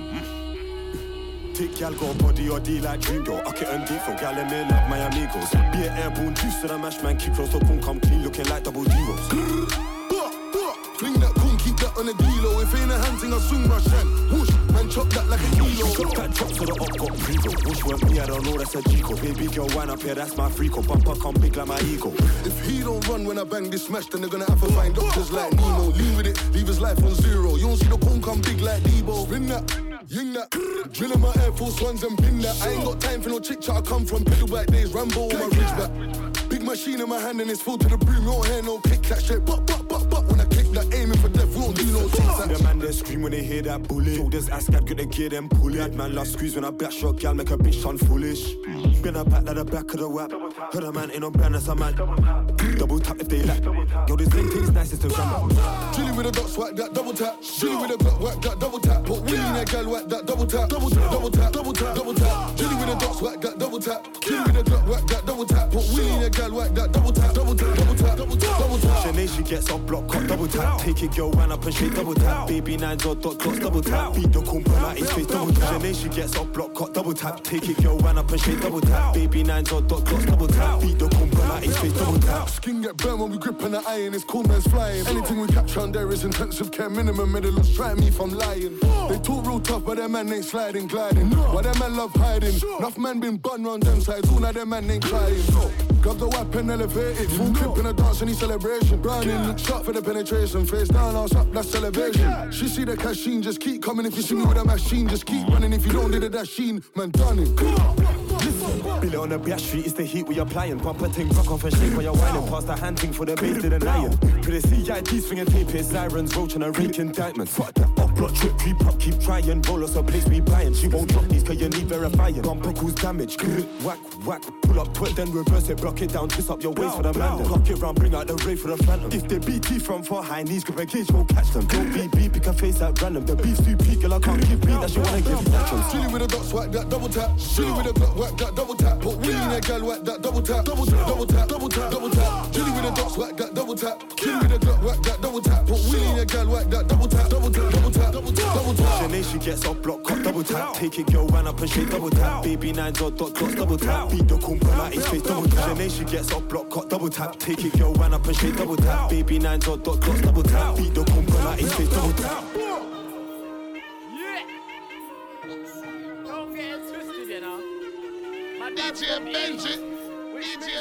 Tick y'all got body or D like Dream Girl. Uck it and deep from gal and me like my amigos. Be an airborne juice to the mash man. Keep close so kun come clean looking like double zeros. Fling that kun, keep that on the D-low. If ain't a hand thing, I swing my shank. Whoosh, man man chop that like a kilo. Chop that drop so the up got pre-roll. Wish weren't me, I don't know that's a G-co. Baby girl, wind up here, that's my freako. Bumper come big like my ego. If he don't run when I bang this smash, then they're gonna have to find doctors like Nemo. Lean with it, leave his life on zero. You don't see the cone come big like Debo. Spin that, ying that, drilling my Air Force Ones and pin that. I ain't got time for no chick chat, I come from Piddleback days, Rambo on my ridgeback. Big machine in my hand and it's full to the brim. You don't hear no kick that shit, but when I kick that, aiming for death, we don't do no tic-tac. The man they scream when they hear that bullet. Shoulders ass cat, good to get them pull it. Man love squeeze when I back shot, gal make a bitch sound foolish. Been a back like the back of the whap. Heard a man ain't no brand, that's a man. Double tap if they lack. Yo, this link thing's nice, it's the ram. Chilly with a dot, swipe that double tap. Chilly with a Glock, whack that double tap. Put Willie in that gal, whack that double tap. Double tap, double tap, double tap, double tap. Chilly with a dot, swipe that double tap. Chilly with a Glock, whack that double tap. Put Willie in that gal, whack that double tap. Double tap, double tap, double tap, double tap. Sinead, she gets up, block, cut, double tap. Take it, girl, wind up and shake, double tap. Baby nines or dot clocks, double tap. Beat the kumpa like his face, double tap. Sinead, she gets up, block, cut, double tap. Take it, girl, wind up and shake, double tap. Baby nines or dot clocks, double tap. Beat the kumpa like his face, double tap. Skin get burnt when we grip on the iron, it's cool man's flying. Anything we capture on there is intensive care minimum. Medalist try me if I'm lying. They talk real tough, but their man ain't sliding, gliding. Why their man love hiding? Enough man been bun round them sides, all now their man ain't crying. Grab the weapon, elevated. Full clip in a dance, any celebration. Browning, shot for the penetration. Face down, ass up, that's celebration. She see the cashin, just keep coming. If you see me with a machine, just keep running. If you don't do the dasheen, man, done it. Billy on the back street, it's the heat we applying. Bumper ting, rock off and shake while you're whining. Pass the hand ting for the base to the lion. For the CID's finger tape, it's sirens, roach and a rake indictment. Fuck that up, block, trip, creep up, keep trying. Roll us a place we buying. She won't drop these cause you need verifying. Bumper cause damage, whack, whack. Pull up, twit, then reverse it, block it down, twist up your waist for the man. Cock it round, bring out the ray for the phantom. If they BT from far high knees, grip a cage, won't catch them. Don't be beep, you can face that random. The beef's too peak, girl, I can't give beat, that she wanna give naturals. Chilly with a dot, swipe that double tap. Chilly with a Glock, whack that double tap. Put Willie in that gal, whack that double tap. Double tap, double tap, double tap, double tap. Chilly with a dot, whack that double tap. Chilly with a Glock, whack that double tap. Put Willie in that gal, whack that double tap. Double tap, double tap, double tap, double tap. Sinead, she gets up, block, cut, double tap. Take it, girl, wind up and shake, double tap. Baby nines or dot clocks, double tap. Beat the kumpa like his face, double tap. Sinead, she gets up, block, cut, double tap. Take it, girl, wind up and shake, double tap. Baby nines or dot clocks, double tap. Beat the kumpa like his face, double tap. Don't get it twisted, you know. My dad's DJ Benji. DJ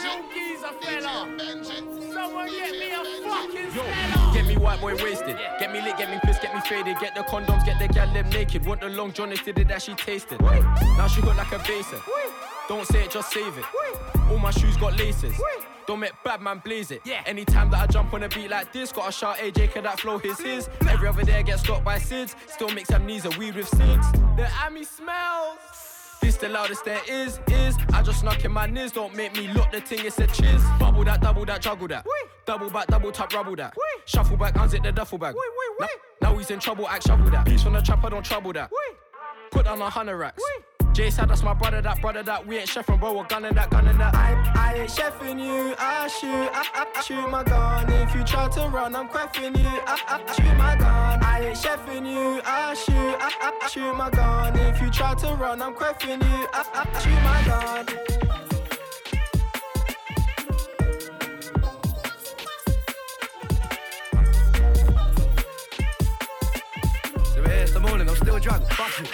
Someone get me a fucking Yo, get me white boy wasted. Get me lit, get me pissed, get me faded. Get the condoms, get the gal lip naked. Want the long john, did it that she tasted. Now she got like a basin. Don't say it, just save it. All my shoes got laces. Don't make bad man blaze it. Anytime that I jump on a beat like this, gotta shout AJ, can that flow his. Every other day I get stopped by SIDS. Still mix amnesia, weed with SIDS. The Ami smells. This the loudest there is. I just snuck in my niz, don't make me look the thing, it's a chiz. Bubble that, juggle that. Double back, double tap, rubble that. Shuffle back, unzip the duffel bag. Now he's in trouble, act shovel that. Beats from the trap, I don't trouble that. Put down 100 racks. Jay said that's my brother that. We ain't chefing, bro, we're gunning that. I ain't chefing you, I shoot my gun. If you try to run, I'm cracking you, I shoot my gun. I ain't chefing you, I shoot my gun. If you try to run, I'm cracking you, I shoot my gun. So here's the morning, I'm still drunk, fuck you.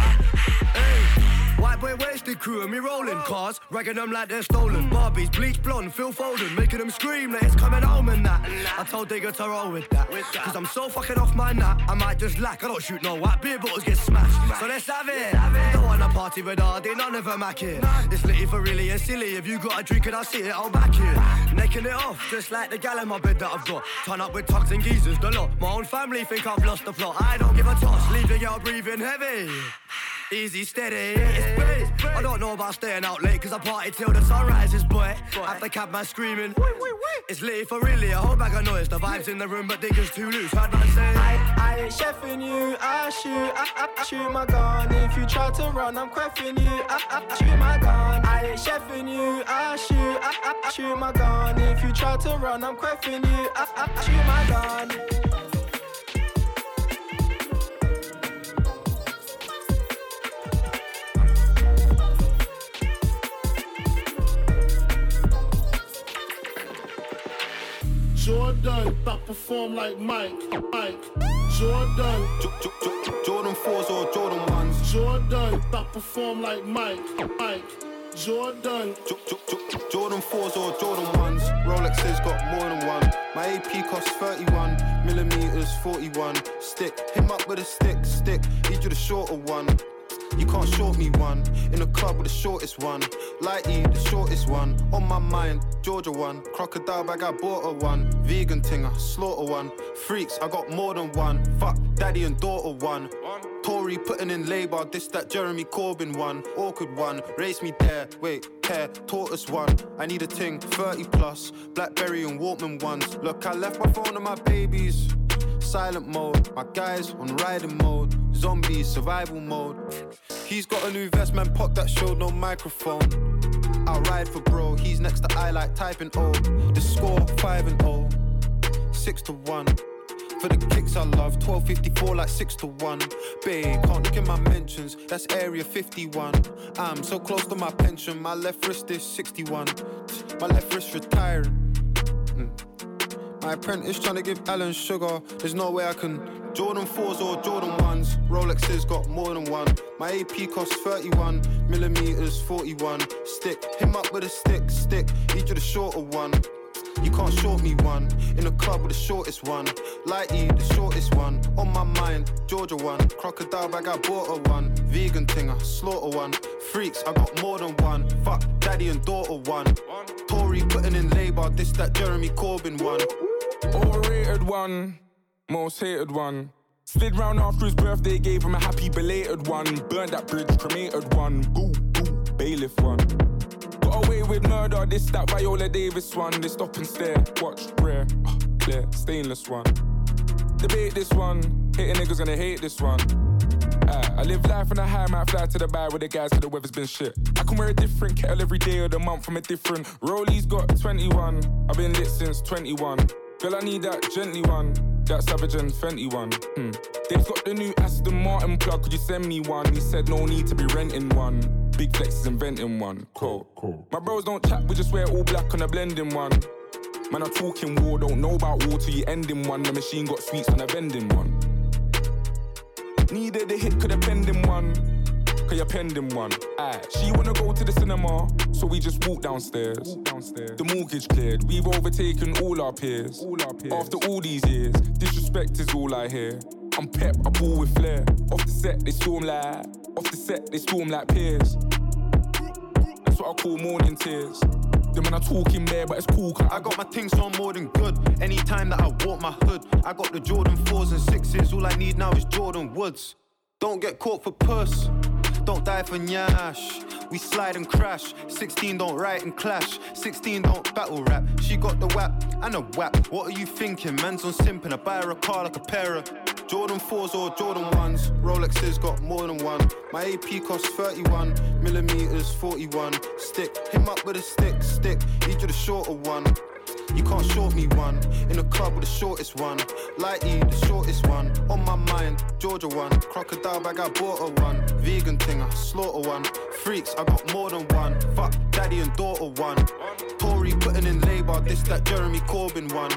White boy wasted crew and me rolling cars, ragging them like they're stolen. Barbies, bleach blonde, Phil Foden, making them scream that it's coming home and that. I told Digger to roll with that, cause I'm so fucking off my nut, I might just lack. I don't shoot no white, beer bottles get smashed. So let's have it. Don't wanna party with Hardy, none of them hack it. This litty for really and silly, if you got a drink and I see it, I'll back it. Necking it off, just like the gal in my bed that I've got. Turn up with tugs and geezers, the lot. My own family think I've lost the plot. I don't give a toss, leave the girl breathing heavy. Easy, steady, it's space. I don't know about staying out late, cause I party till the sun rises, boy. After cabman screaming, it's lit for really, a whole bag of noise. The vibes in the room, but Digger's too loose. Heard man say, I ain't chefing you, I shoot my gun. If you try to run, I'm cracking you, I shoot my gun. I ain't chefing you, I shoot my gun. If you try to run, I'm cracking you, I shoot my gun. Jordan, I perform like Mike. Jordan. Jordan 4s or Jordan 1s. Jordan, that perform like Mike. Jordan. Jordan 4s or Jordan 1s. Rolexes got more than one. My AP costs 31 millimeters, 41. Stick, him up with a stick. Need you the shorter one. You can't short me one. In the club with the shortest one. Lighty, the shortest one. On my mind, Georgia one. Crocodile bag, I bought her one. Vegan thing, I slaughter one. Freaks, I got more than one. Fuck, daddy and daughter one. Tory putting in labour, this that Jeremy Corbyn one. Awkward one, race me there. Wait, care, tortoise one. I need a ting, 30 plus. Blackberry and Walkman ones. Look, I left my phone and my babies. Silent mode, my guys on riding mode. Zombies, survival mode. He's got a new vest, man, pop that showed no microphone. I'll ride for bro, he's next to I like typing O. The score, 5-0, 6-1. For the kicks I love, 12.54 like 6-1. Babe, can't look in my mentions, that's area 51. I'm so close to my pension, my left wrist is 61. My left wrist retiring. My apprentice trying to give Alan sugar, there's no way I can. Jordan 4s or Jordan 1s, Rolexes got more than one. My AP costs 31 millimeters, 41. Stick, him up with a stick. Need you the shorter one. You can't short me one. In the club with the shortest one. Lighty, the shortest one. On my mind, Georgia one. Crocodile bag, I bought her one. Vegan thing, I slaughter one. Freaks, I got more than one. Fuck, daddy and daughter one. Tory putting in labour, this that Jeremy Corbyn one. Overrated one, most hated one. Slid round after his birthday, gave him a happy belated one. Burned that bridge, cremated one. Boo, bailiff one. Got away with murder, this that Viola Davis one. They stop and stare, watch, rare, clear, stainless one. Debate this one, hating niggas gonna hate this one. I live life on a high, might fly to the bar with the guys till the weather's been shit. I can wear a different kettle every day of the month from a different. Rolly's got 21, I've been lit since 21. Girl, I need that gently one, that Savage and Fenty one. They've got the new Aston Martin plug, could you send me one? He said no need to be renting one. Big Flex is inventing one, cool. My bros don't chat, we just wear all black on a blending one. Man, I'm talking war, don't know about war till you end in one. The machine got sweets on a vending one. Needed a hit, could have penned in one. Cause you're pending one. She wanna go to the cinema, so we just walk downstairs. The mortgage cleared, we've overtaken all our peers. After all these years, disrespect is all I hear. I'm pep, I ball with flair. Off the set, they storm like peers. That's what I call morning tears. Them when I'm talking there, but it's cool. I got my things on more than good. Anytime that I walk my hood, I got the Jordan 4s and 6s. All I need now is Jordan Woods. Don't get caught for puss. Don't die for nyash. We slide and crash. 16 don't write and clash. 16 don't battle rap. She got the whap and a whap. What are you thinking? Man's on simping. I buy her a car like a pair of Jordan 4s or Jordan 1s. Rolexes got more than one. My AP costs 31 millimeters, 41. Stick, him up with a stick. Need you the shorter one. You can't short me one. In the club with the shortest one. Lighty, the shortest one. On my mind, Georgia one. Crocodile bag, I bought her one. Vegan thing, I slaughter one. Freaks, I got more than one. Fuck, daddy and daughter one. Tory putting in labour, this that Jeremy Corbyn one.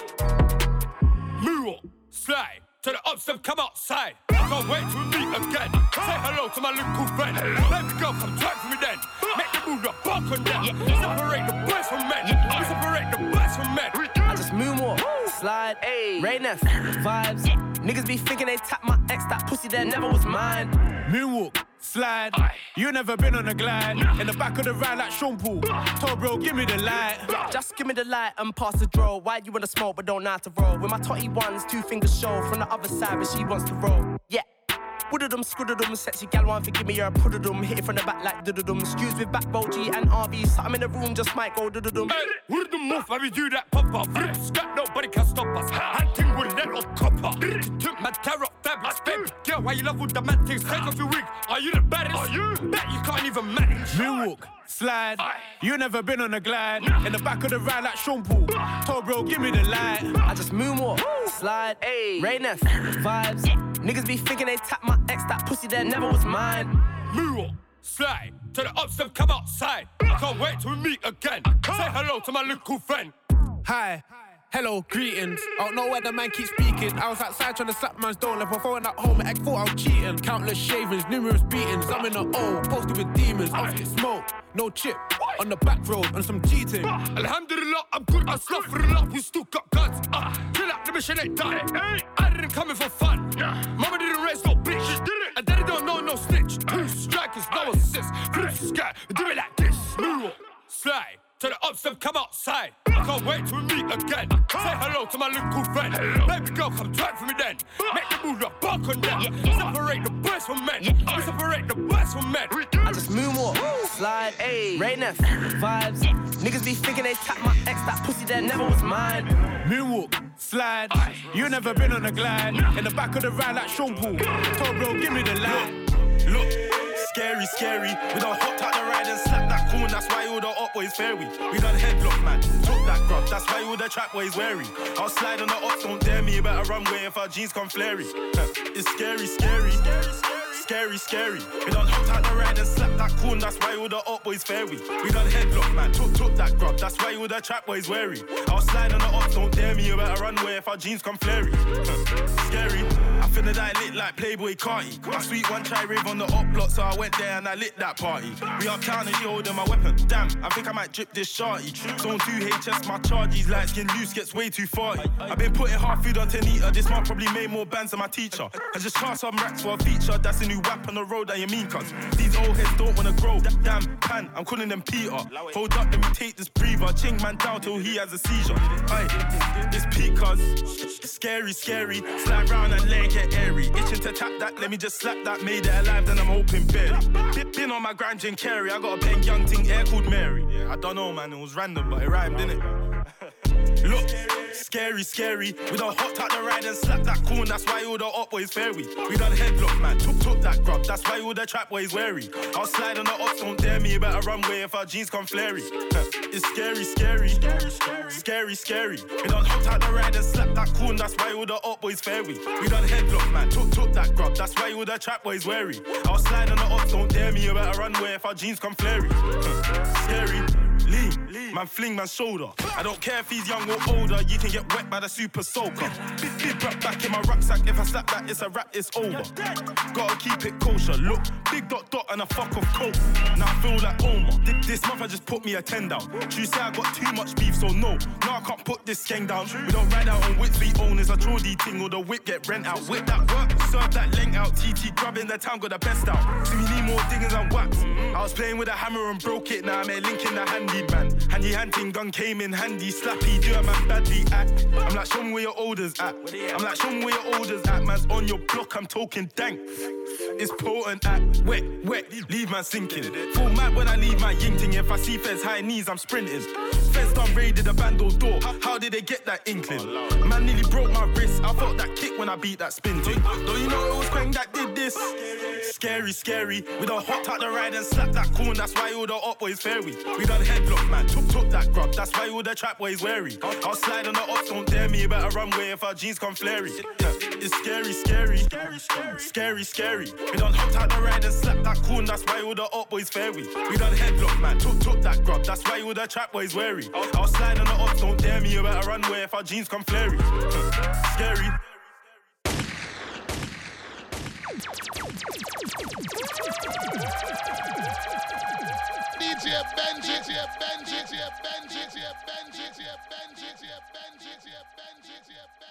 Move on, slide. To the upstep, come outside. I can't wait to meet again. Say hello to my little friend. Baby girl, come twerk for me then. Make the move the buck on them. Separate the boys from men. Separate the boys from men. I just moonwalk, slide, Raynef, vibes. Niggas be thinking they tap my ex, that pussy that never was mine. Moonwalk, slide. You never been on a glide. In the back of the ride like Sean Paul. Told bro, give me the light. Just give me the light and pass the draw. Why you wanna smoke but don't know how to roll? With my totty ones, 2 fingers show. From the other side, but she wants to roll. Yeah. Wooded-em, scooded-em, sexy gal want to give me her pudded-em. Hit it from the back like doodle-em. Skews with backbone G and RV. Something in the room just might go doodle-em. Hey, wooded-em off, how we do that pop-up. Scat, nobody can stop us. Hunting with that old copper. Took my terror fabrics, baby. Girl, why you love with the man things? Take off your wig. Are you the baddest? Are you? Bet you can't even manage. Moonwalk, slide. You never been on a glide. In the back of the ride like Sean Paul. Told bro, give me the light. I just moonwalk, slide, Raynef, vibes. Niggas be thinking they tap my ex, that pussy that never was mine. Moonwalk, slide. To the upstep, come outside. I can't wait to meet again. Say hello to my little friend. Hi. Hello, greetings. I don't know where the man keeps speaking. I was outside trying to slap man's door. Left my phone at home and I thought I was cheating. Countless shavings, numerous beatings. I'm in the O, posted with demons. Off get smoke, no chip. On the back road, on some cheating. Alhamdulillah, I'm good. Astaghfirullah, we still got guns. Chill out, the mission ain't done. I didn't come in for fun. Mama didn't raise no bitch. And daddy don't know no snitch. Two strikers, no assist. Flip the sky, do it like this. Slide. To the ups, them come outside. Can't wait till we meet again. Say hello to my little friend. Baby girl, come twerk for me then. Make the move, not bark on them. Separate the boys from men. We separate the boys from men. I just moonwalk, slide, Rain F, vibes. Niggas be thinking they tap my ex, that pussy there never was mine. Moonwalk, slide. You never been on a glide. In the back of the ride like Sean Paul. Told bro, give me the light. Look, scary, scary. We done hopped out the ride and slapped that corn. That's why all the up boys fairy. We done headlock, man. Took that grub. That's why all the trap boys wary. I'll slide on the ops, don't dare me. You better run away if our jeans come flary. It's scary, scary. Scary, scary. We done hopped out the ride and slapped that corn. That's why all the up boys fairy. We done headlock, man. Took that grub. That's why all the trap boys wary. I'll slide on the ops, don't dare me. You better run away if our jeans come flary. Scary. I finna die lit like Playboy Carti. My sweet one try rave on the up block, so I went there and I lit that party. We uptown and she holding my weapon. Damn, I think I might drip this shorty. Zone 2 HS, my charges light skin loose gets way too farty. I've been putting hard food on Tanita. This month probably made more bands than my teacher. I just charged some racks for a feature. That's a new whap on the road that you mean, cuz these old heads don't wanna grow. Damn, pan, I'm calling them Peter. Hold up, let me take this breather. Ching man down till he has a seizure. Aye, it's peak, cuz scary, scary. Slide round and let it get airy. Itching to tap that, let me just slap that. Made it alive, then I'm hoping barely. Been on my grind, Jim Carrey. I got a bang young thing, air called Mary. Yeah, I don't know, man, it was random, but it rhymed, didn't it? Look, scary, scary. We done hopped out the ride and slapped that corn. That's why all the up boys fairy. We done headlock, man. Took that grub. That's why all the trap boys wary. I'll slide on the ops, don't dare me. You better run away if our jeans come flary. It's scary, scary. Scary, scary. We done hopped out the ride and slapped that corn. That's why all the up boys fairy. We done headlock, man. Took that grub. That's why all the trap boys wary. I'll slide on the ops, don't dare me. You better run away if our jeans come flary. Scary. Lean, man fling man's shoulder. I don't care if he's young or older, you can get wet by the super soaker. Big rap back in my rucksack, if I slap that, it's a rap, it's over. Gotta keep it kosher, look, big dot and a fuck of coke. Now I feel like Omar, this month I just put me a 10 down. You say I got too much beef, so no, I can't put this gang down. We don't ride out on whips, we own is a Geordie ting, or the whip get rent out. Whip that work, serve that length out, TT grabbing the town, got the best out. See we need more diggers and whaps. I was playing with a hammer and broke it, now I'm a link in the handy man. Handy hunting gun came in handy, slappy, do a man badly act. I'm like, show me where your orders at. I'm like, show me where your orders at. Man's on your block, I'm talking dank. It's potent at wet, leave man sinking. Full mad when I leave my ying ting. If I see feds high knees, I'm sprinting. Feds done raided the bando door. How did they get that inkling? Man nearly broke my wrist. I felt that kick when I beat that spin thing. Don't you know it was Quang that did this? Scary, scary. We done hopped out the ride and slapped that corn. That's why all the up boys fairy. We done headlock, man. Took that grub. That's why all the trap boys wary. I'll slide on the ops, don't dare me. You better run away if our jeans come flary. It's scary, scary. Scary, scary. We done hopped out the ride and slapped that corn. That's why all the up boys fairy. We done headlock, man. Took that grub. That's why all the trap boys wary. I'll slide on the ops, don't dare me. You better run away if our jeans come flary. Scary. DJ Benji, DJ Benji, DJ Benji, DJ Benji, DJ Benji, DJ Benji, DJ Benji, DJ Benji.